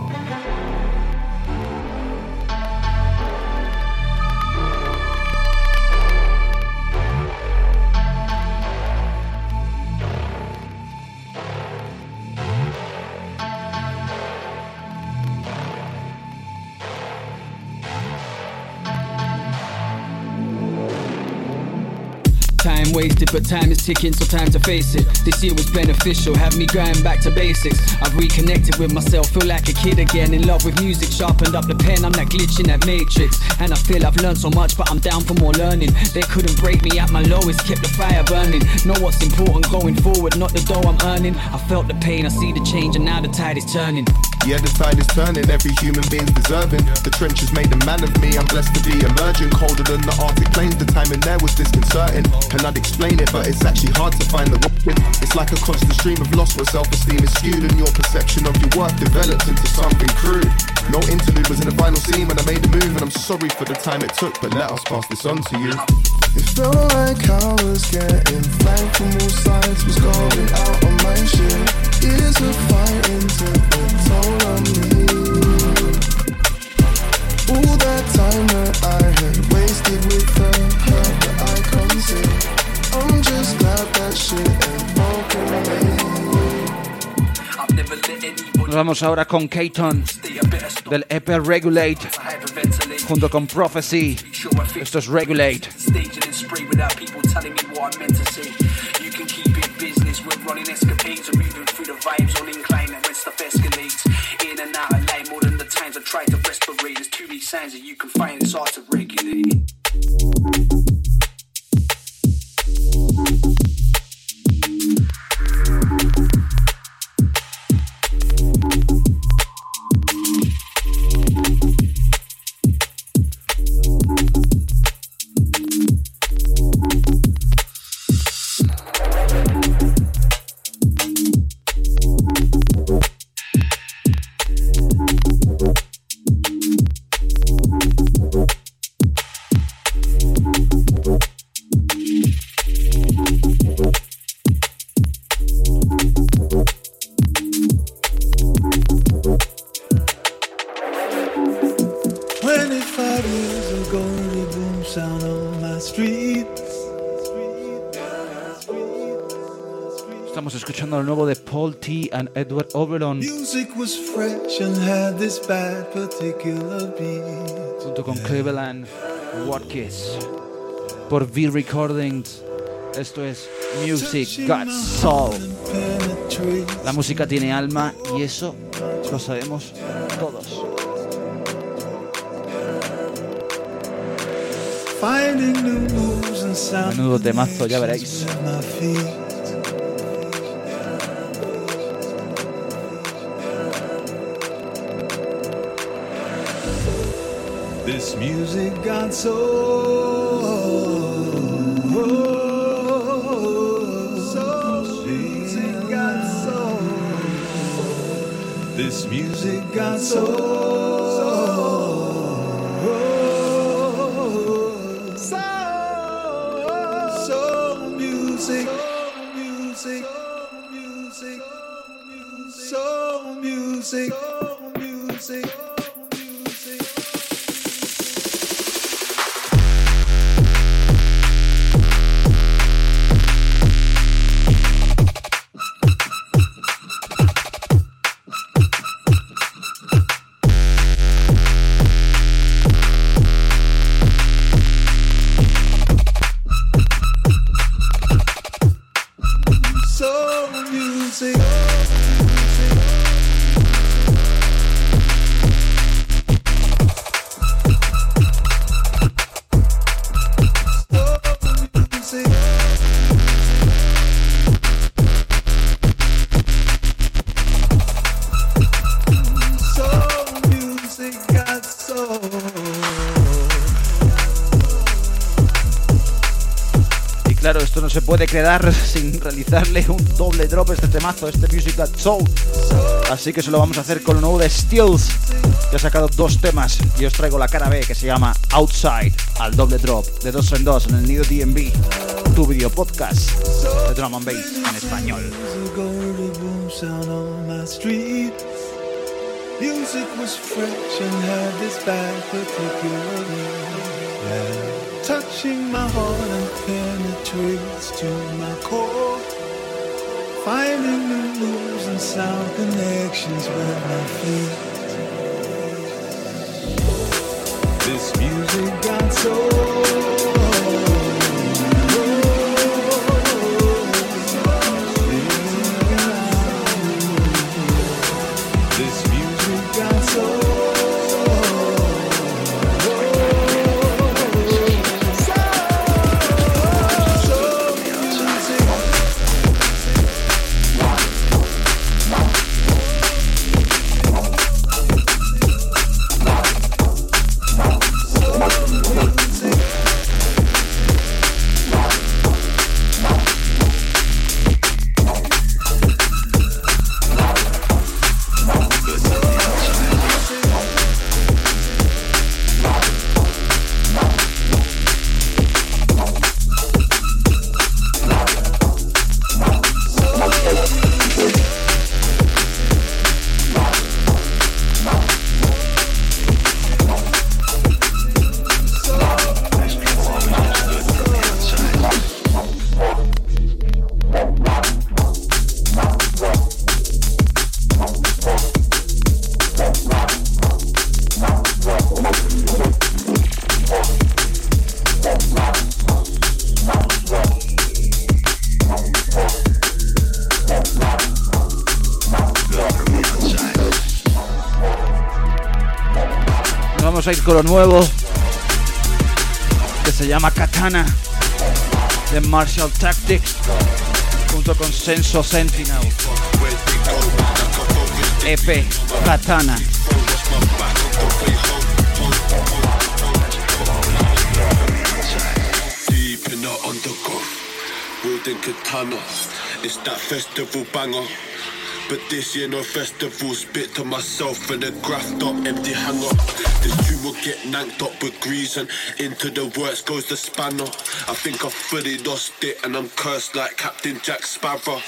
Time wasted, but time is ticking, so time to face it. This year was beneficial, have me going back to basics. I've reconnected with myself, feel like a kid again. In love with music, sharpened up the pen, I'm that glitch in that matrix. And I feel I've learned so much, but I'm down for more learning. They couldn't break me at my lowest, kept the fire burning. Know what's important going forward, not the dough I'm earning. I felt the pain, I see the change, and now the tide is turning. Yeah, the tide is turning, every human being's deserving. The trenches made a man of me, I'm blessed to be emerging. Colder than the Arctic plains, the timing there was disconcerting. And I'd explain it, but it's actually hard to find the word. It's like a constant stream of loss where self-esteem is skewed and your perception of your worth develops into something crude. No interlude was in the final scene when I made the move, and I'm sorry for the time it took, but let us pass this on to you. It felt like I was getting flanked from all sides. Was going out on my shit. Years of fighting took the toll on me. All that time that I had wasted with the hurt that I concealed. I'm just glad that shit ain't broken me. Nos vamos ahora con K-Ton del EP Regulate junto con Prophecy. Esto es Regulate. Estamos escuchando lo nuevo de Paul T and Edward Oberon junto con Cleveland Watkins por V Recordings. Esto es Music Got Soul. La música tiene alma y eso lo sabemos todos. Menudo temazo, ya veréis. This music got soul. Music got soul. This music got soul. Soul music. Soul music. Soul music. music. Claro, esto no se puede quedar sin realizarle un doble drop a este temazo, este Music Got Soul. Así que se lo vamos a hacer con lo nuevo de Steels, que ha sacado 2 temas. Y os traigo la cara B, que se llama Outside, al doble drop, de 2 en 2 en el Nido DMV, tu video podcast de Drum and Bass en español. Music was fresh and had this bad particularly. Touching my heart and penetrates to my core. Finding new moves and sound connections with my feet. This music got soul. A ir con lo nuevo que se llama Katana de Martial Tactics junto con Senso Sentinel. EP Katana. Deep in the undergrowth, wielding katana. It's that festival banger. But this year no festival, spit to myself in a graphed up empty hanger. This tune will get nanked up with grease and into the works goes the spanner. I think I fully lost it and I'm cursed like Captain Jack Sparrow.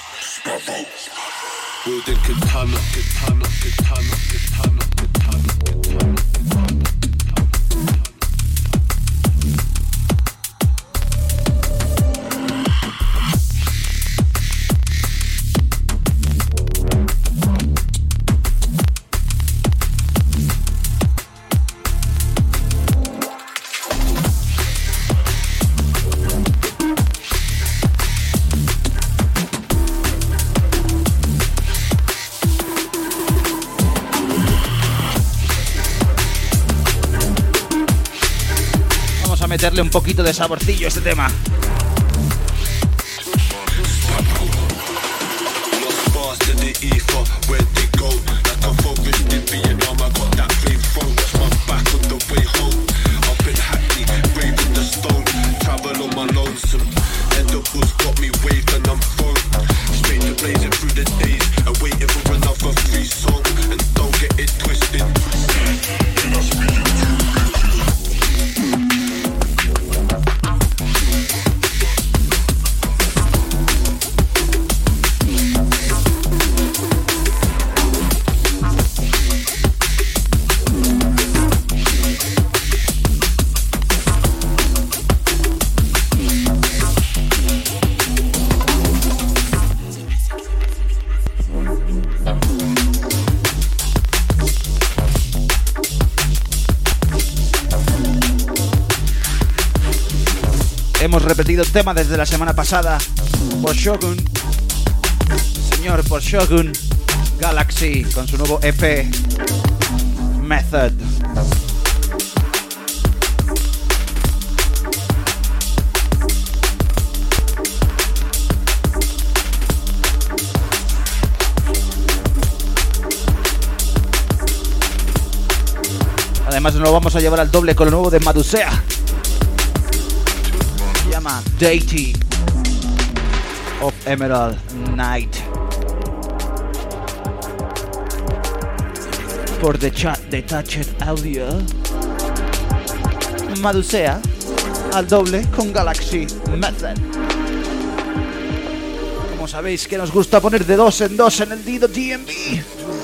Wielding katana, katana, katana, katana, katana, katana. Meterle un poquito de saborcillo a este tema. Hemos repetido el tema desde la semana pasada por Shogun. Se señor, por Shogun Galaxy con su nuevo EP Method. Además nos lo vamos a llevar al doble con lo nuevo de Madusea. Se llama Deity of Emerald Night. Por The Detached Audio, Madusea al doble con Galaxy Method. Como sabéis que nos gusta poner de 2 en 2 en el Dido DMV.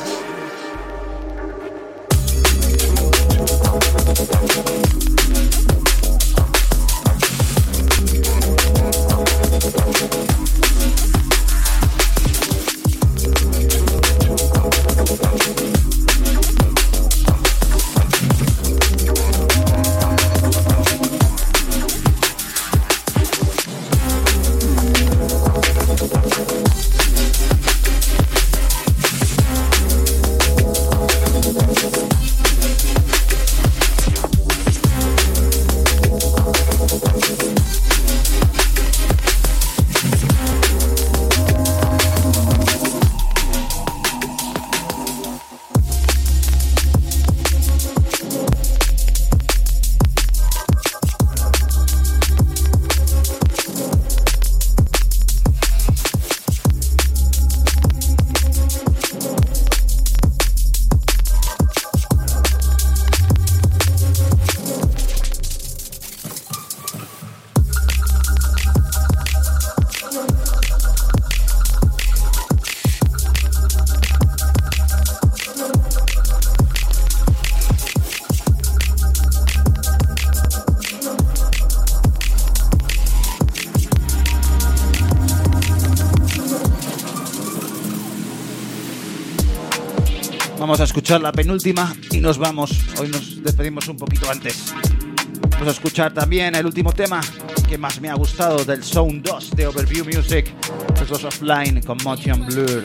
Vamos a escuchar la penúltima y nos vamos. Hoy nos despedimos un poquito antes. Vamos a escuchar también el último tema que más me ha gustado del Sound 2 de Overview Music. Es los Offline con Motion Blur.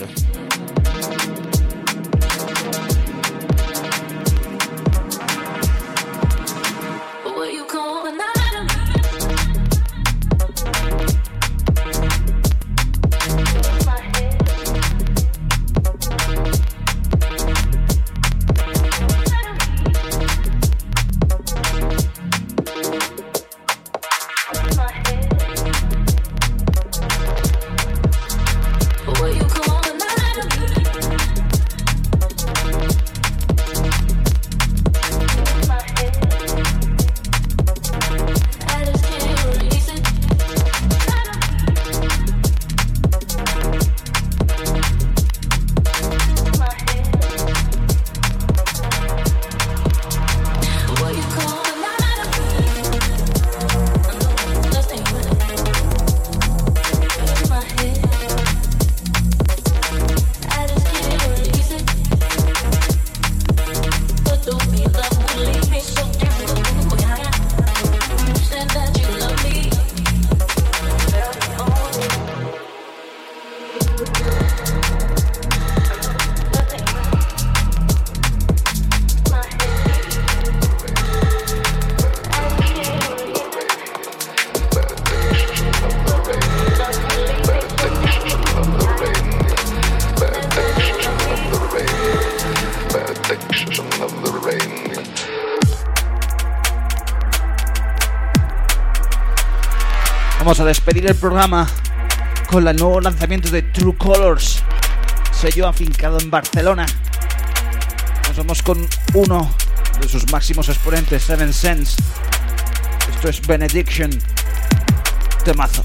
Vamos a despedir el programa con el nuevo lanzamiento de True Colors, sello afincado en Barcelona. Nos vamos con uno de sus máximos exponentes, Seven Sense. Esto es Benediction, temazo.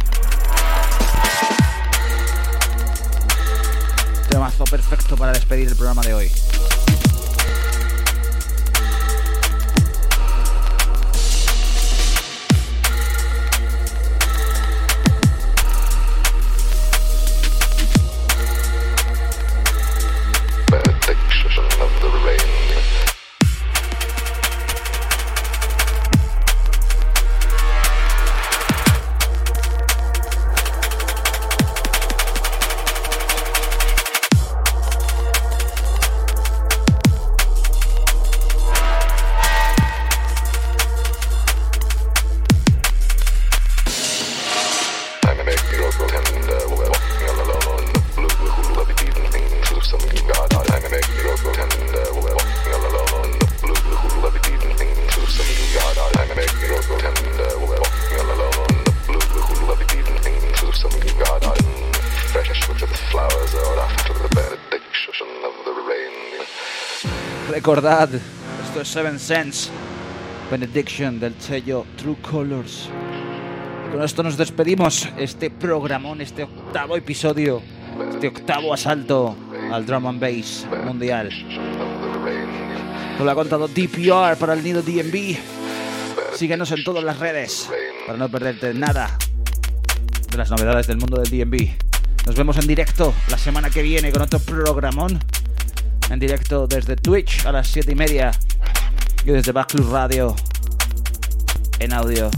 Temazo perfecto para despedir el programa de hoy. Recordad, esto es Seven Sense, Benediction del sello True Colors. Y con esto nos despedimos, este programón, este octavo episodio, este octavo asalto al drum and bass mundial. Nos lo ha contado DPR para el nido DNB. Síguenos en todas las redes para no perderte nada de las novedades del mundo del DNB. Nos vemos en directo la semana que viene con otro programón. En directo desde Twitch a las 7:30 y desde Backlus Radio en audio.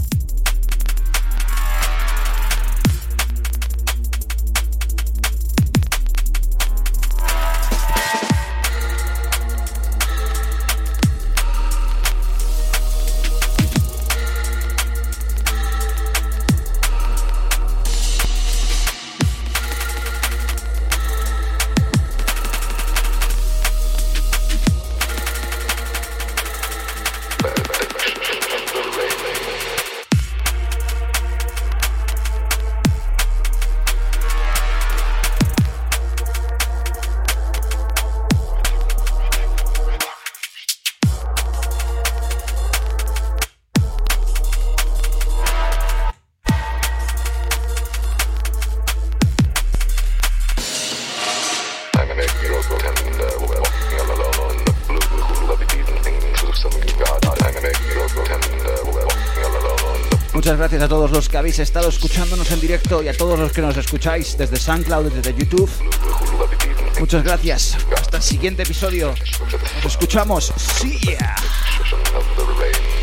Muchas gracias a todos los que habéis estado escuchándonos en directo y a todos los que nos escucháis desde SoundCloud, desde YouTube. Muchas gracias. Hasta el siguiente episodio. Nos escuchamos. See ya.